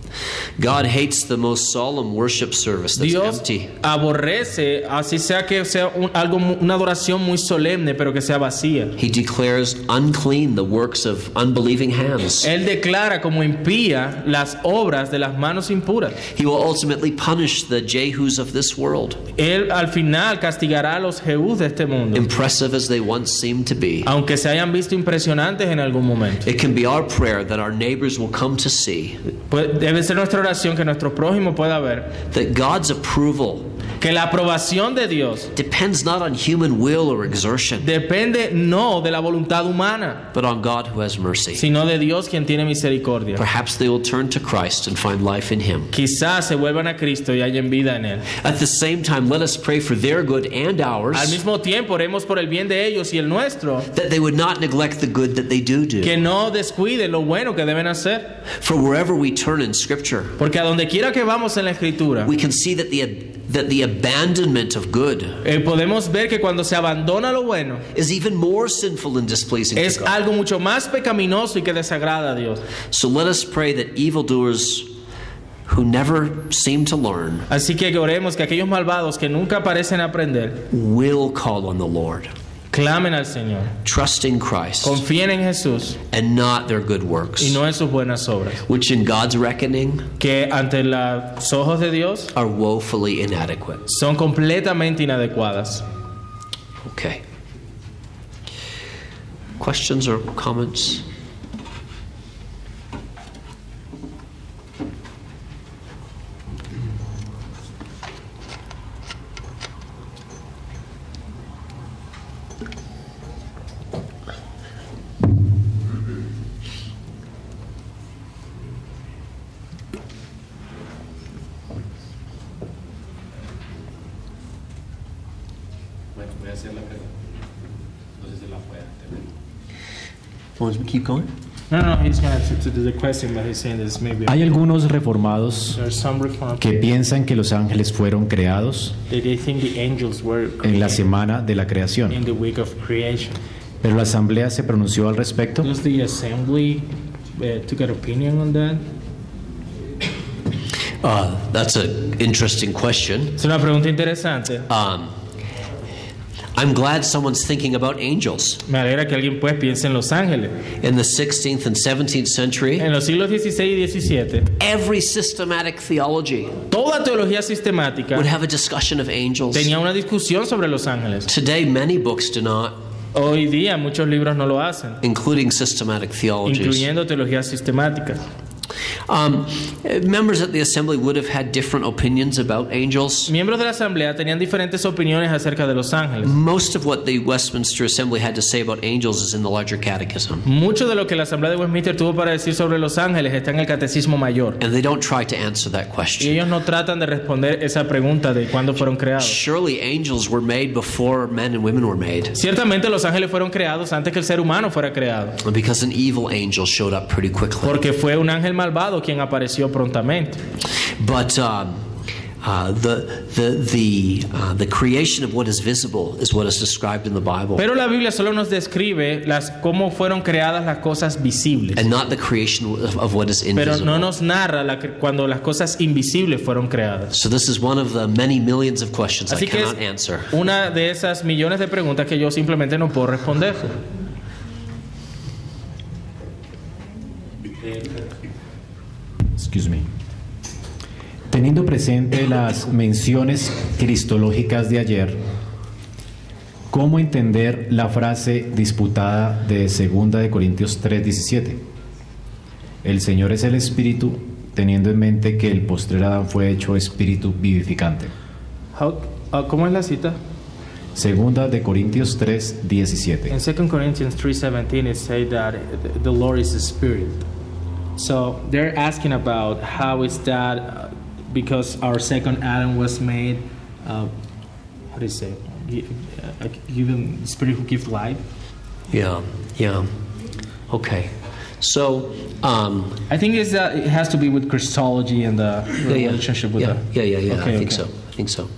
God hates the most solemn worship service that's Dios empty. aborrece, así sea que sea una adoración muy solemne, pero que sea vacía. He declares unclean the works of unbelieving hands. Él declara como impía las obras de las manos impuras. He will ultimately punish the Jehus of this world, Él al final castigará a los Jehús de este mundo, impressive as they once seemed to be. aunque se hayan visto impresionantes en algún momento. It can be our prayer that our neighbors will come to see Pues debe ser nuestra oración que nuestro prójimo pueda ver that God's approval que la aprobación de Dios depends not on human will or exertion, depende no de la voluntad humana, but on God who has mercy. sino de Dios quien tiene misericordia. Perhaps they will turn to Christ and find life in Him. Quizás se vuelvan a Cristo y hallen vida en Él. At the same time, let us pray for their good and Al ours, mismo tiempo, oremos por el bien de ellos y el nuestro, that they would not neglect the good that they do. que no descuiden lo bueno que deben hacer. For wherever we turn in Scripture, Porque a donde quiera que vamos en la Escritura, we can see that the abandonment of good podemos ver que cuando se abandona lo bueno, is even more sinful and displeasing es to God. algo mucho más pecaminoso y que desagrada a Dios. So let us pray that evildoers who never seem to learn Así que oremos que aquellos malvados que nunca parecen aprender, will call on the Lord, clamen al Señor, trusting Christ confíen en Jesús and not their good y works, no en sus buenas obras, which in God's reckoning que ante los ojos de Dios are woefully inadequate. son completamente inadecuadas. Okay. Questions or comments? Want to keep going? No, he's going to do the question, but he's saying this maybe. Hay algunos reformados There are some reform que piensan que los ángeles fueron creados that they think the angels were en la created semana de la in creación, the week of creation. pero la asamblea se pronunció al respecto. Does the assembly took an opinion on that? That's an interesting question. Es una pregunta interesante. I'm glad someone's thinking about angels. Me alegra que alguien pues piense en los ángeles. In the 16th and 17th century, En los siglos XVI y XVII, every systematic theology toda teología sistemática would have a discussion of angels. tenía una discusión sobre los ángeles. Today, many books do not, Hoy día muchos libros no lo hacen, including systematic theologies. incluyendo teologías sistemáticas. Members at the assembly would have had different opinions about angels. Miembros de la asamblea tenían diferentes opiniones acerca de los ángeles. Most of what the Westminster Assembly had to say about angels is in the Larger Catechism. Mucho de lo que la asamblea de Westminster tuvo para decir sobre los ángeles está en el catecismo mayor. And they don't try to answer that Y question. ellos no tratan de responder esa pregunta de cuándo fueron creados. Surely angels were made before men and women were made. Ciertamente los ángeles fueron creados antes que el ser humano fuera creado, Because an evil angel showed up pretty quickly. porque fue un ángel malvado quien apareció prontamente. But the creation of what is visible is what is described in the Bible, Pero la Biblia solo nos describe cómo fueron creadas las cosas visibles, and not the creation of what is pero invisible. no nos narra cuando las cosas invisibles fueron creadas. So this is one of the many millions of questions I Así que cannot es answer. una de esas millones de preguntas que yo simplemente no puedo responder. Excuse me. Teniendo presente las menciones cristológicas de ayer, ¿cómo entender la frase disputada de 2 de Corintios 3:17? El Señor es el Espíritu, teniendo en mente que el postrer Adán fue hecho espíritu vivificante. ¿Cómo es la cita? 2 de Corintios 3:17. In 2 Corinthians 3:17 it says that the Lord is a spirit. So they're asking about how is that because our second Adam was made, how do you say, given the spirit who gives life. Yeah. Okay. So, I think it has to be with Christology and the relationship with yeah. Okay, I think so.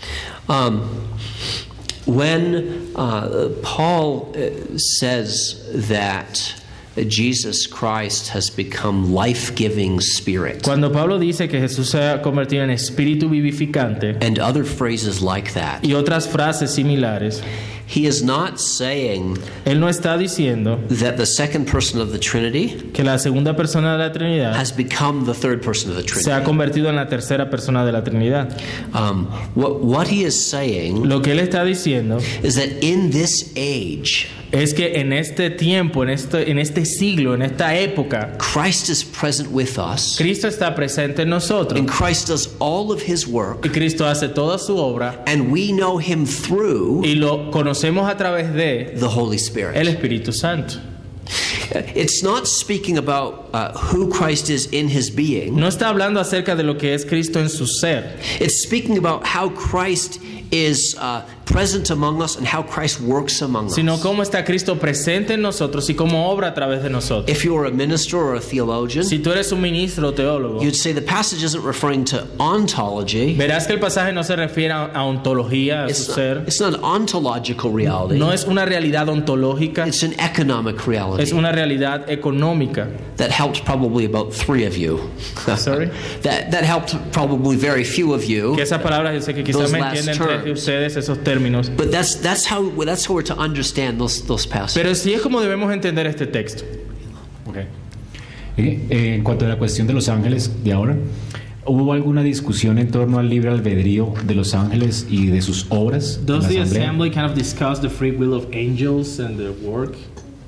When Paul says that Jesus Christ has become life-giving spirit, Cuando Pablo dice que Jesús se ha convertido en espíritu vivificante and other phrases like that, y otras frases similares, he is not saying él no está diciendo that the second person of the Trinity que la segunda persona de la Trinidad has become the third person of the se ha Trinity. convertido en la tercera persona de la Trinidad. What he is saying Lo que él está diciendo is that in this age, es que en este tiempo, en este siglo, en esta época, Christ is present with us, Cristo está presente en nosotros and Christ does all of his work, y Cristo hace toda su obra and we know him through y lo conocemos a través de the Holy el Spirit. Espíritu Santo. It's not speaking about who Christ is in his being. No está hablando acerca de lo que es Cristo en su ser. It's speaking about how Christ is present among us and how Christ works among Sino us. cómo está Cristo presente en nosotros y cómo obra a través de nosotros. If you're a minister or a theologian, Si tú eres un ministro o teólogo, you'd say the passage isn't referring to ontology. verás que el pasaje no se refiere a ontología, a su ser. It's not an ontological reality. No es una realidad ontológica, It's an economic reality. es una realidad económica. That helped probably about 3 of you. Sorry? That helped probably very few of you. Que esas palabras yo sé que quizás Those me last entienden tres de terms. ustedes esos términos. But that's how we're to understand those passages. Pero sí es como debemos entender este texto. Okay. En cuanto a la cuestión de los ángeles de ahora, ¿hubo alguna discusión en torno al libre albedrío de los ángeles y de sus obras? en Does la the asamblea? assembly kind of discuss the free will of angels and their work?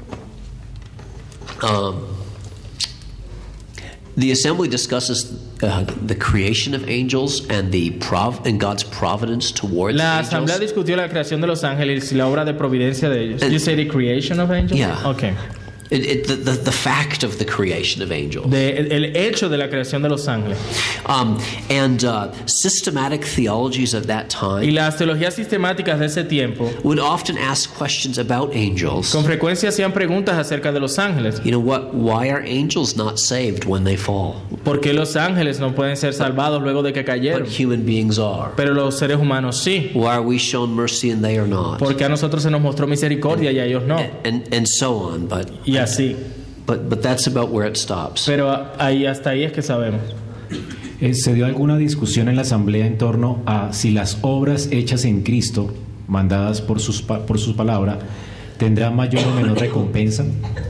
The assembly discusses the creation of angels and and God's providence towards La asamblea angels. discutió la creación de los ángeles y la obra de providencia de ellos. You say the creation of angels? Yeah. Okay. The fact of the creation of angels. El hecho de la creación de los ángeles. And systematic theologies of that Y time las teologías sistemáticas de ese tiempo would often ask questions about angels. con frecuencia hacían preguntas acerca de los ángeles. You know what? Why are angels not saved when they fall? ¿Por qué los ángeles no pueden ser salvados luego de que cayeron? But human beings are. Pero los seres humanos sí. Why are we shown mercy and they are not? Porque a nosotros se nos mostró misericordia y a ellos no. And so on. Y así. But that's about where it stops. Pero hasta ahí es que sabemos. ¿Se dio alguna discusión en la asamblea en torno a si las obras hechas en Cristo, mandadas por su palabra, tendrán mayor o menor recompensa?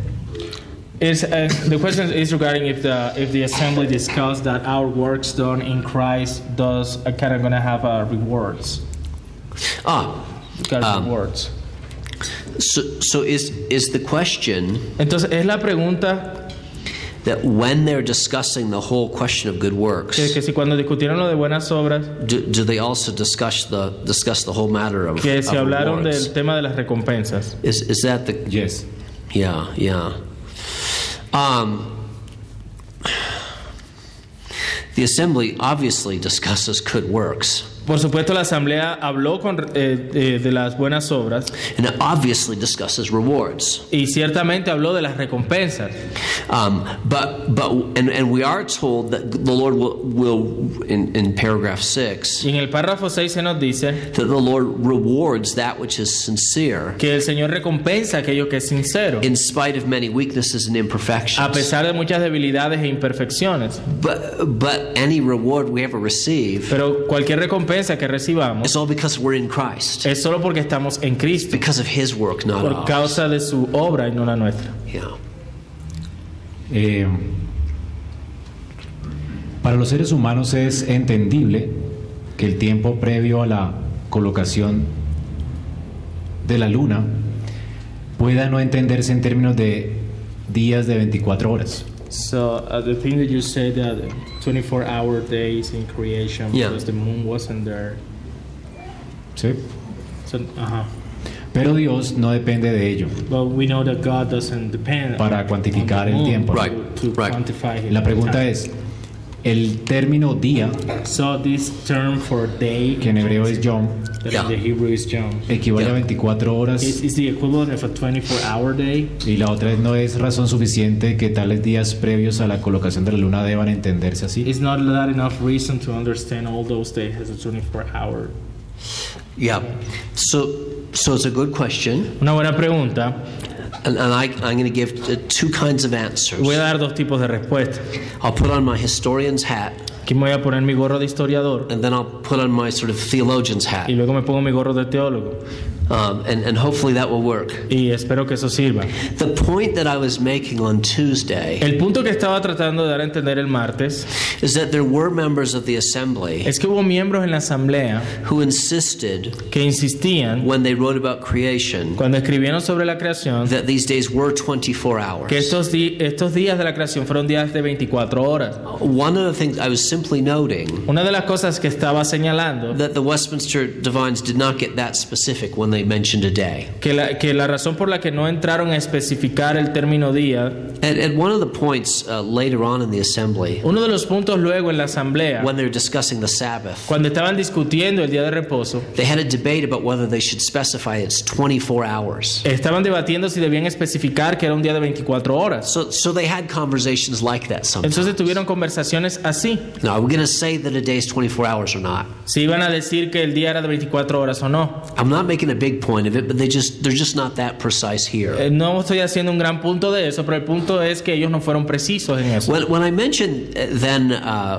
The question is regarding if the assembly discussed that our works done in Christ does kind of gonna have rewards. Rewards. So is the question Entonces es la pregunta that when they're discussing the whole question of good works, que si cuando discutieron lo de buenas obras, do they also discuss the whole matter of que se hablaron rewards? del tema de las recompensas. Is that the Yes. Yeah. The assembly obviously discusses good works. Por supuesto, la asamblea habló de las buenas obras And it obviously discusses rewards. y ciertamente habló de las recompensas. But we are told that the Lord will in paragraph 6 Y en el párrafo 6 se nos dice that the Lord rewards that which is sincere que el Señor recompensa aquello que es sincero, in spite of many weaknesses and a imperfections. pesar de muchas debilidades e imperfecciones. But any reward we ever receive Pero cualquier recompensa que recibamos is all because we're in Christ, es solo porque estamos en Cristo, because of His work, not por ours. causa de su obra y no la nuestra. Yeah. Para los seres humanos es entendible que el tiempo previo a la colocación de la luna pueda no entenderse en términos de días de 24 horas. So the thing that you said that 24-hour days in creation Yeah. because the moon wasn't there. ¿Sí? So, Pero Dios no depende de ello But we know that God doesn't depend para cuantificar el tiempo. Right. to Right. quantify his La pregunta time. es, el término día, So this term for day, que en hebreo es yom, that Yeah. in the Hebrew is yom, equivale Yeah. a 24 horas is the equivalent of a 24-hour day. y la otra no es razón suficiente que tales días previos a la colocación de la luna deban entenderse así. It's not that enough reason to understand all those days as a 24-hour. Yeah. So it's a good question, Una buena pregunta. and I'm going to give two kinds of answers. Voy a dar dos tipos de respuestas. I'll put on my historian's hat, Aquí me voy a poner mi gorro de historiador and then I'll put on my sort of theologian's hat, y luego me pongo mi gorro de teólogo. and hopefully that will work. Y espero que eso sirva. The point that I was making on Tuesday El punto que estaba tratando de dar a entender el martes is that there were members of the assembly es que hubo miembros en la asamblea who insisted, que insistían, when they wrote about creation, cuando escribieron sobre la creación, that these days were 24 hours. que estos días de la creación fueron días de 24 horas. One of the things I was simply noting Una de las cosas que estaba señalando, that the Westminster Divines did not get that specific when they mentioned a day. que la razón por la que no entraron a especificar el término día, At one of the points later on in the assembly, uno de los puntos luego en la asamblea, when they were discussing the Sabbath, cuando estaban discutiendo el día de reposo, they had a debate about whether they should specify it's 24 hours. estaban debatiendo si debían especificar que era un día de 24 horas. So they had conversations like that sometimes. Entonces tuvieron conversaciones así. Now, are we going to say that a day is 24 hours or not? Si iban a decir que el día era de 24 horas o no. I'm not making a big point of it, but they're just not that precise here. No estoy haciendo un gran punto de eso, pero el punto es que ellos no fueron precisos en eso. When I mentioned then,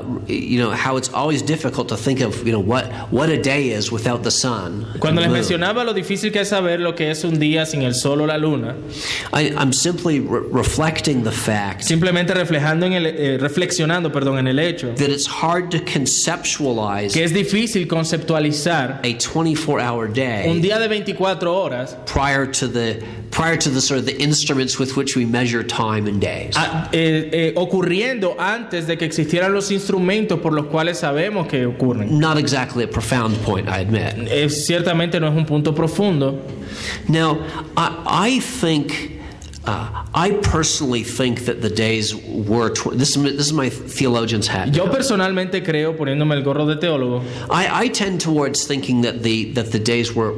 how it's always difficult to think of, what a day is without the sun. Cuando les and the moon. mencionaba lo difícil que es saber lo que es un día sin el sol o la luna, I'm simply reflecting the fact simplemente reflexionando en el hecho that it's hard to conceptualize que es difícil conceptualizar a 24-hour un day día de 24 horas prior to the sort of the instruments with which we measure time and days. Ocurriendo antes de que existieran los instrumentos por los cuales sabemos que ocurren. Not exactly a profound point, I admit. Ciertamente no es un punto profundo. Now, I think I personally think that the days were. This is my theologian's hat. Yo personalmente creo, poniéndome el gorro de teólogo, I tend towards thinking that the days were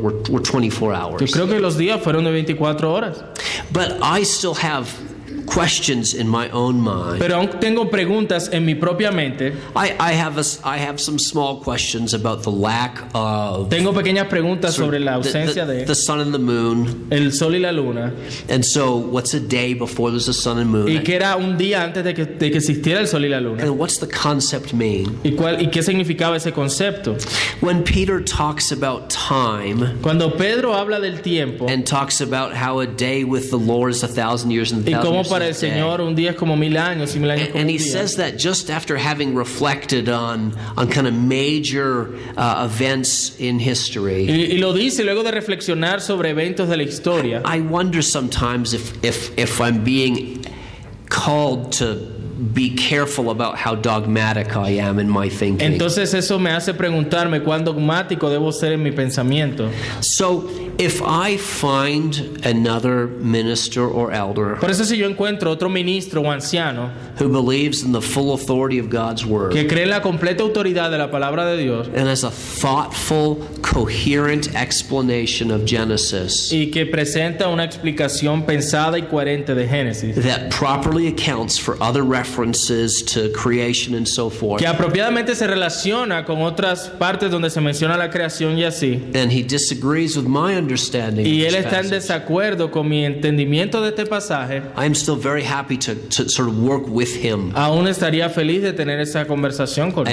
24 yo hours. creo que los días fueron de 24 horas. But I still have questions in my own mind. Pero aún tengo preguntas en mi propia mente. I have some small questions about the lack of Tengo pequeñas preguntas sobre la ausencia the de sun and the moon. el sol y la luna. And so, what's a day before there's a sun and moon? Y que era un día antes de que existiera el sol y la luna. And what's the concept mean? ¿Y qué significaba ese concepto? When Peter talks about time Cuando Pedro habla del tiempo and talks about how a day with the Lord is 1,000 years and y 1,000 cómo years para el is a day. Señor un día es como 1000 años y 1000 años como And un he día. says that just after having reflected on kind of major events in history. Y lo dice luego de reflexionar sobre eventos de la historia. I wonder sometimes if I'm being called to be careful about how dogmatic I am in my thinking. Entonces eso me hace preguntarme cuán dogmático debo ser en mi pensamiento. So if I find another minister or elder Por eso si yo encuentro otro ministro o anciano who believes in the full authority of God's word que cree en la completa autoridad de la palabra de Dios and has a thoughtful, coherent explanation of Genesis y que presenta una explicación pensada y coherente de Génesis, that properly accounts for other references to creation and so forth, que apropiadamente se relaciona con otras partes donde se menciona la creación y así, and he disagrees with my understanding y of él this está en passage, desacuerdo con mi entendimiento de este pasaje, I am still very happy to sort of work with him aún estaría feliz de tener esa conversación con él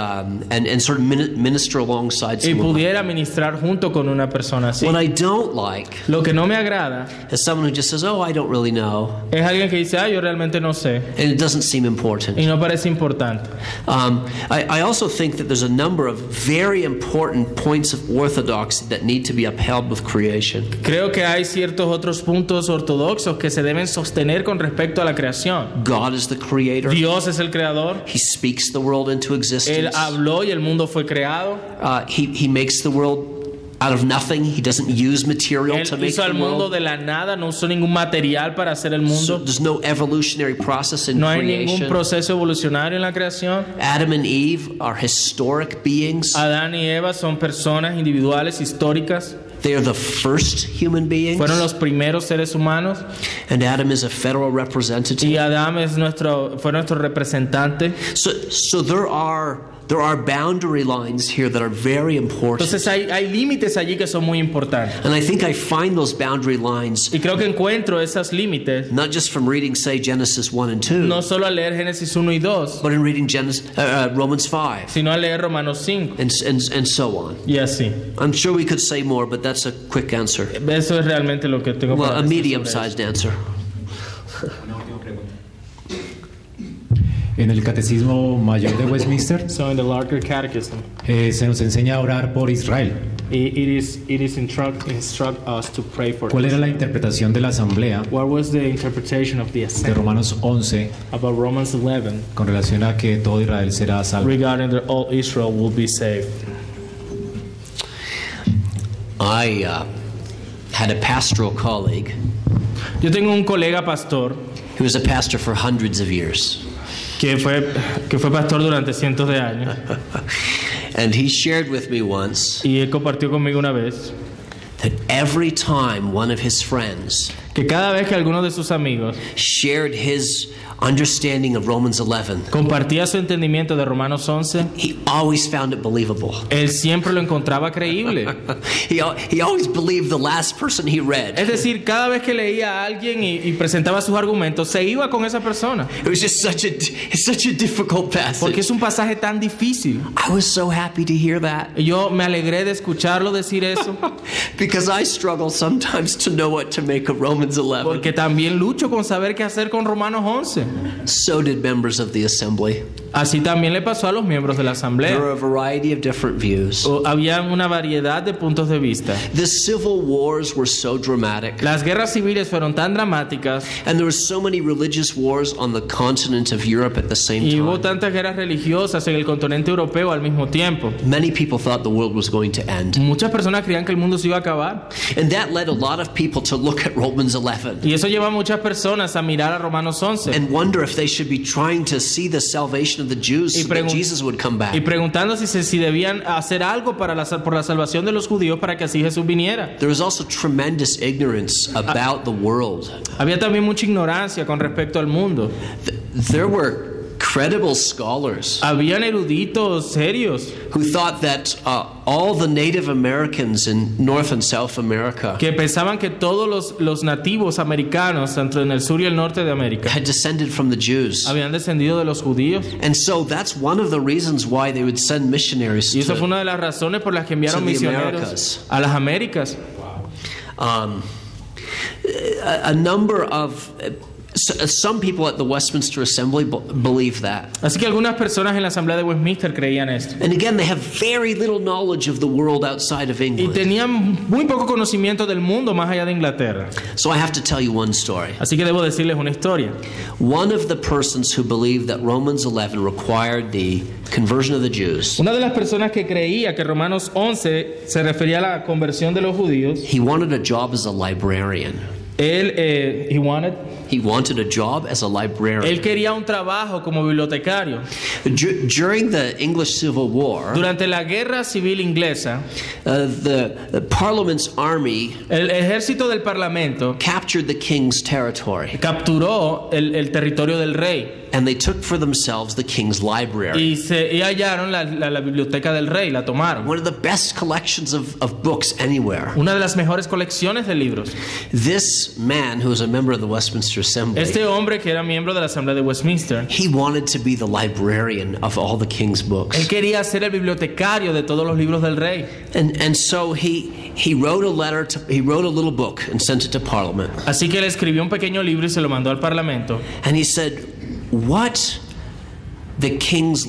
and sort of minister alongside y someone. pudiera ministrar junto con una persona así. What I don't like Lo que no me agrada is someone who just says, "Oh, I don't really know," es alguien que dice, yo realmente no sé, and it doesn't seem important. y no parece importante. I also think that there's a number of very important points of orthodoxy that need to be upheld with creation. Creo que hay ciertos otros puntos ortodoxos que se deben sostener con respecto a la creación. God is the creator. Dios es el creador. He speaks the world into Él existence. habló y el mundo fue creado. He makes the world out of nothing. He doesn't use material Él to make hizo the al mundo world. de la nada, no usó ningún material para hacer el So mundo. there's no evolutionary process in No hay ningún creation. proceso evolucionario en la creación. Adam and Eve are historic beings. Adán y Eva son personas individuales, históricas. They are the first human beings. Fueron los primeros seres humanos. And Adam is a federal representative. Y Adán fue nuestro representante. So there are boundary lines here that are very important. Entonces hay límites allí que son muy importantes. And I think I find those boundary lines Y creo que encuentro esos límites not just from reading, say, Genesis 1 and 2, no solo al leer Génesis 1 y 2, but in reading Romans 5 sino al leer Romanos 5 and so on. y así. I'm sure we could say more, but that's a quick answer. Eso es realmente lo que tengo Well, para a decir sobre medium-sized answer. En el Catecismo Mayor de Westminster eso. So in the larger catechism, se nos enseña a orar por Israel. it is instruct us to pray for ¿Cuál era la interpretación de la Asamblea What was the interpretation of the de assembly Romanos 11 about Romans 11 con relación a que todo Israel será salvo? regarding that all Israel will be saved? I had a pastoral colleague Yo tengo un colega pastor who was a pastor for hundreds of years. que fue pastor durante cientos de años And he shared with me once y él compartió conmigo una vez that every time one of his friends que cada vez que alguno de sus amigos shared his understanding of Romans 11, compartía su entendimiento de Romanos 11, he always found it believable. él siempre lo encontraba creíble. He always believed the last person he read. Es decir, cada vez que leía a alguien y presentaba sus argumentos, se iba con esa persona. It was just such a difficult Porque passage. es un pasaje tan difícil. I was so happy to hear that Y yo me alegré de escucharlo decir eso, because I struggle sometimes to know what to make of Romans 11. porque también lucho con saber qué hacer con Romanos 11. So did members of the assembly. Así también le pasó a los miembros de la There asamblea. were a variety of different views. Había una variedad de puntos de vista. The civil wars were so dramatic, Las guerras civiles fueron tan dramáticas and there were so many religious wars on the continent of Europe at the same y hubo time. tantas guerras religiosas en el continente europeo al mismo tiempo. Many people thought the world was going to end. Muchas personas creían que el mundo se iba a acabar. And that led a lot of people to look at Romans Romans 11 Y eso lleva a muchas personas a mirar a Romanos 11 and wonder if they should be trying to see the salvation of the Jews so that Jesus would come back. y preguntando si debían hacer algo por la salvación de los judíos para que así Jesús viniera. There was also tremendous ignorance about the world. Había también mucha ignorancia con respecto al mundo. There were credible scholars Habían eruditos serios who thought that all the Native Americans in North and South America que pensaban que todos los nativos americanos, tanto en el sur y el norte de América, had descended from the Jews. habían descendido de los judíos. And so that's one of the reasons why they would send missionaries Y eso fue to una de las razones por las que enviaron to the misioneros Americas. a las Américas. a number of some people at the Westminster Assembly believe that. Así que algunas personas en la Asamblea de Westminster creían esto. And again, they have very little knowledge of the world outside of Y England. tenían muy poco conocimiento del mundo más allá de Inglaterra. So I have to tell you one story. Así que debo decirles una historia. One of the persons who believed that Romans 11 required the conversion of the Jews, Una de las personas que creía que Romanos 11 se refería a la conversión de los judíos, he wanted a job as a librarian. he wanted a job as a librarian. él quería un trabajo como bibliotecario. During the English Civil War, Durante la guerra civil inglesa, the Parliament's army el ejército del parlamento captured the king's territory, capturó el territorio del rey and they took for themselves the king's library. y hallaron la biblioteca del rey, la tomaron. One of the best collections of books anywhere. Una de las mejores colecciones de libros. This man, who was a member of the Westminster Assembly, Este hombre que era miembro de la Asamblea de Westminster, he wanted to be the librarian of all the king's books. él quería ser el bibliotecario de todos los libros del rey. And so he wrote a letter he wrote a little book and sent it to Parliament. Así que él escribió un pequeño libro y se lo mandó al parlamento. And he said, what the king's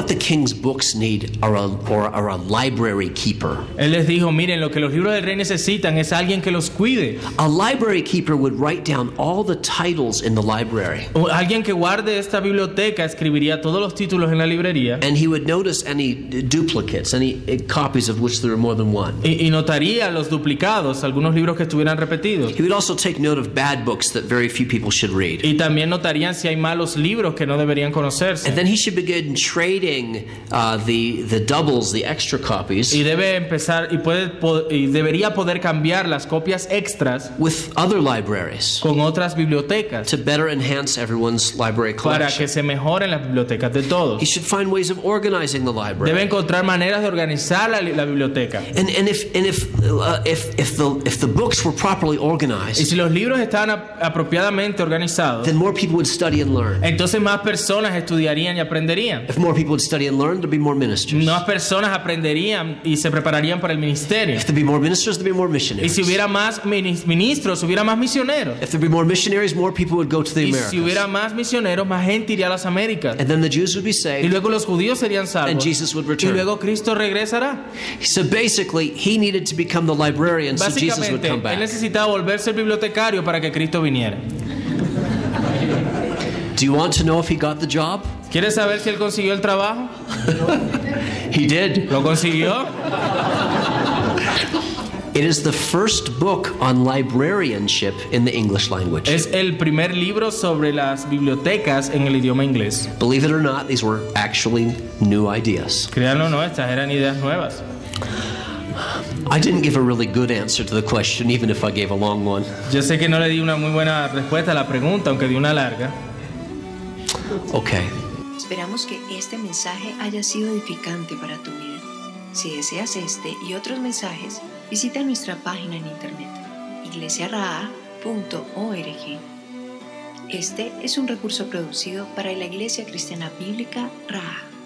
books need are a library keeper. Él les dijo, miren, lo que los libros del rey necesitan es alguien que los cuide. A library keeper would write down all the titles in the library. O alguien que guarde esta biblioteca escribiría todos los títulos en la librería And he would notice any duplicates, any copies of which there are more than one. y notaría los duplicados, algunos libros que estuvieran repetidos. He would also take note of bad books that very few people should read. Y también notarían si hay malos libros que no deberían conocerse. And then he should begin trading the doubles, the extra copies, Y debe empezar y debería poder cambiar las copias extras with other libraries con otras bibliotecas to better enhance everyone's library para collection. que se mejoren las bibliotecas de todos. He should find ways of organizing the Debe library. encontrar maneras de organizar la biblioteca. And if the books were properly Y organized, si los libros estaban apropiadamente organizados, then more people would study and learn. entonces más personas estudiarían y aprenderían. If more people would study and learn, there'd be more ministers. Más personas aprenderían y se prepararían para el ministerio. If there'd be more ministers, there'd be more Y missionaries. si hubiera más ministros, hubiera más misioneros. If there'd be more missionaries, more people would go to the Y si Americas. hubiera más misioneros, más gente iría a las Américas. And then the Jews would be Y saved. luego los judíos serían salvos. And Jesus would Y return. luego Cristo regresará. So basically, he needed to become the librarian so Jesus would Básicamente, come él back. necesitaba volverse el bibliotecario para que Cristo viniera. Do you want to know if he got the job? ¿Quieres saber si él consiguió el trabajo? He did. ¿Lo consiguió? It is the first book on librarianship in the English language. Es el primer libro sobre las bibliotecas en el idioma inglés. Believe it or not, these were actually new ideas. Créanlo o no, estas eran ideas nuevas. I didn't give a really good answer to the question, even if I gave a long one. Yo sé que no le di una muy buena respuesta a la pregunta, aunque di una larga. Okay. Esperamos que este mensaje haya sido edificante para tu vida. Si deseas este y otros mensajes, visita nuestra página en internet, iglesiaraa.org. Este es un recurso producido para la Iglesia Cristiana Bíblica Raha.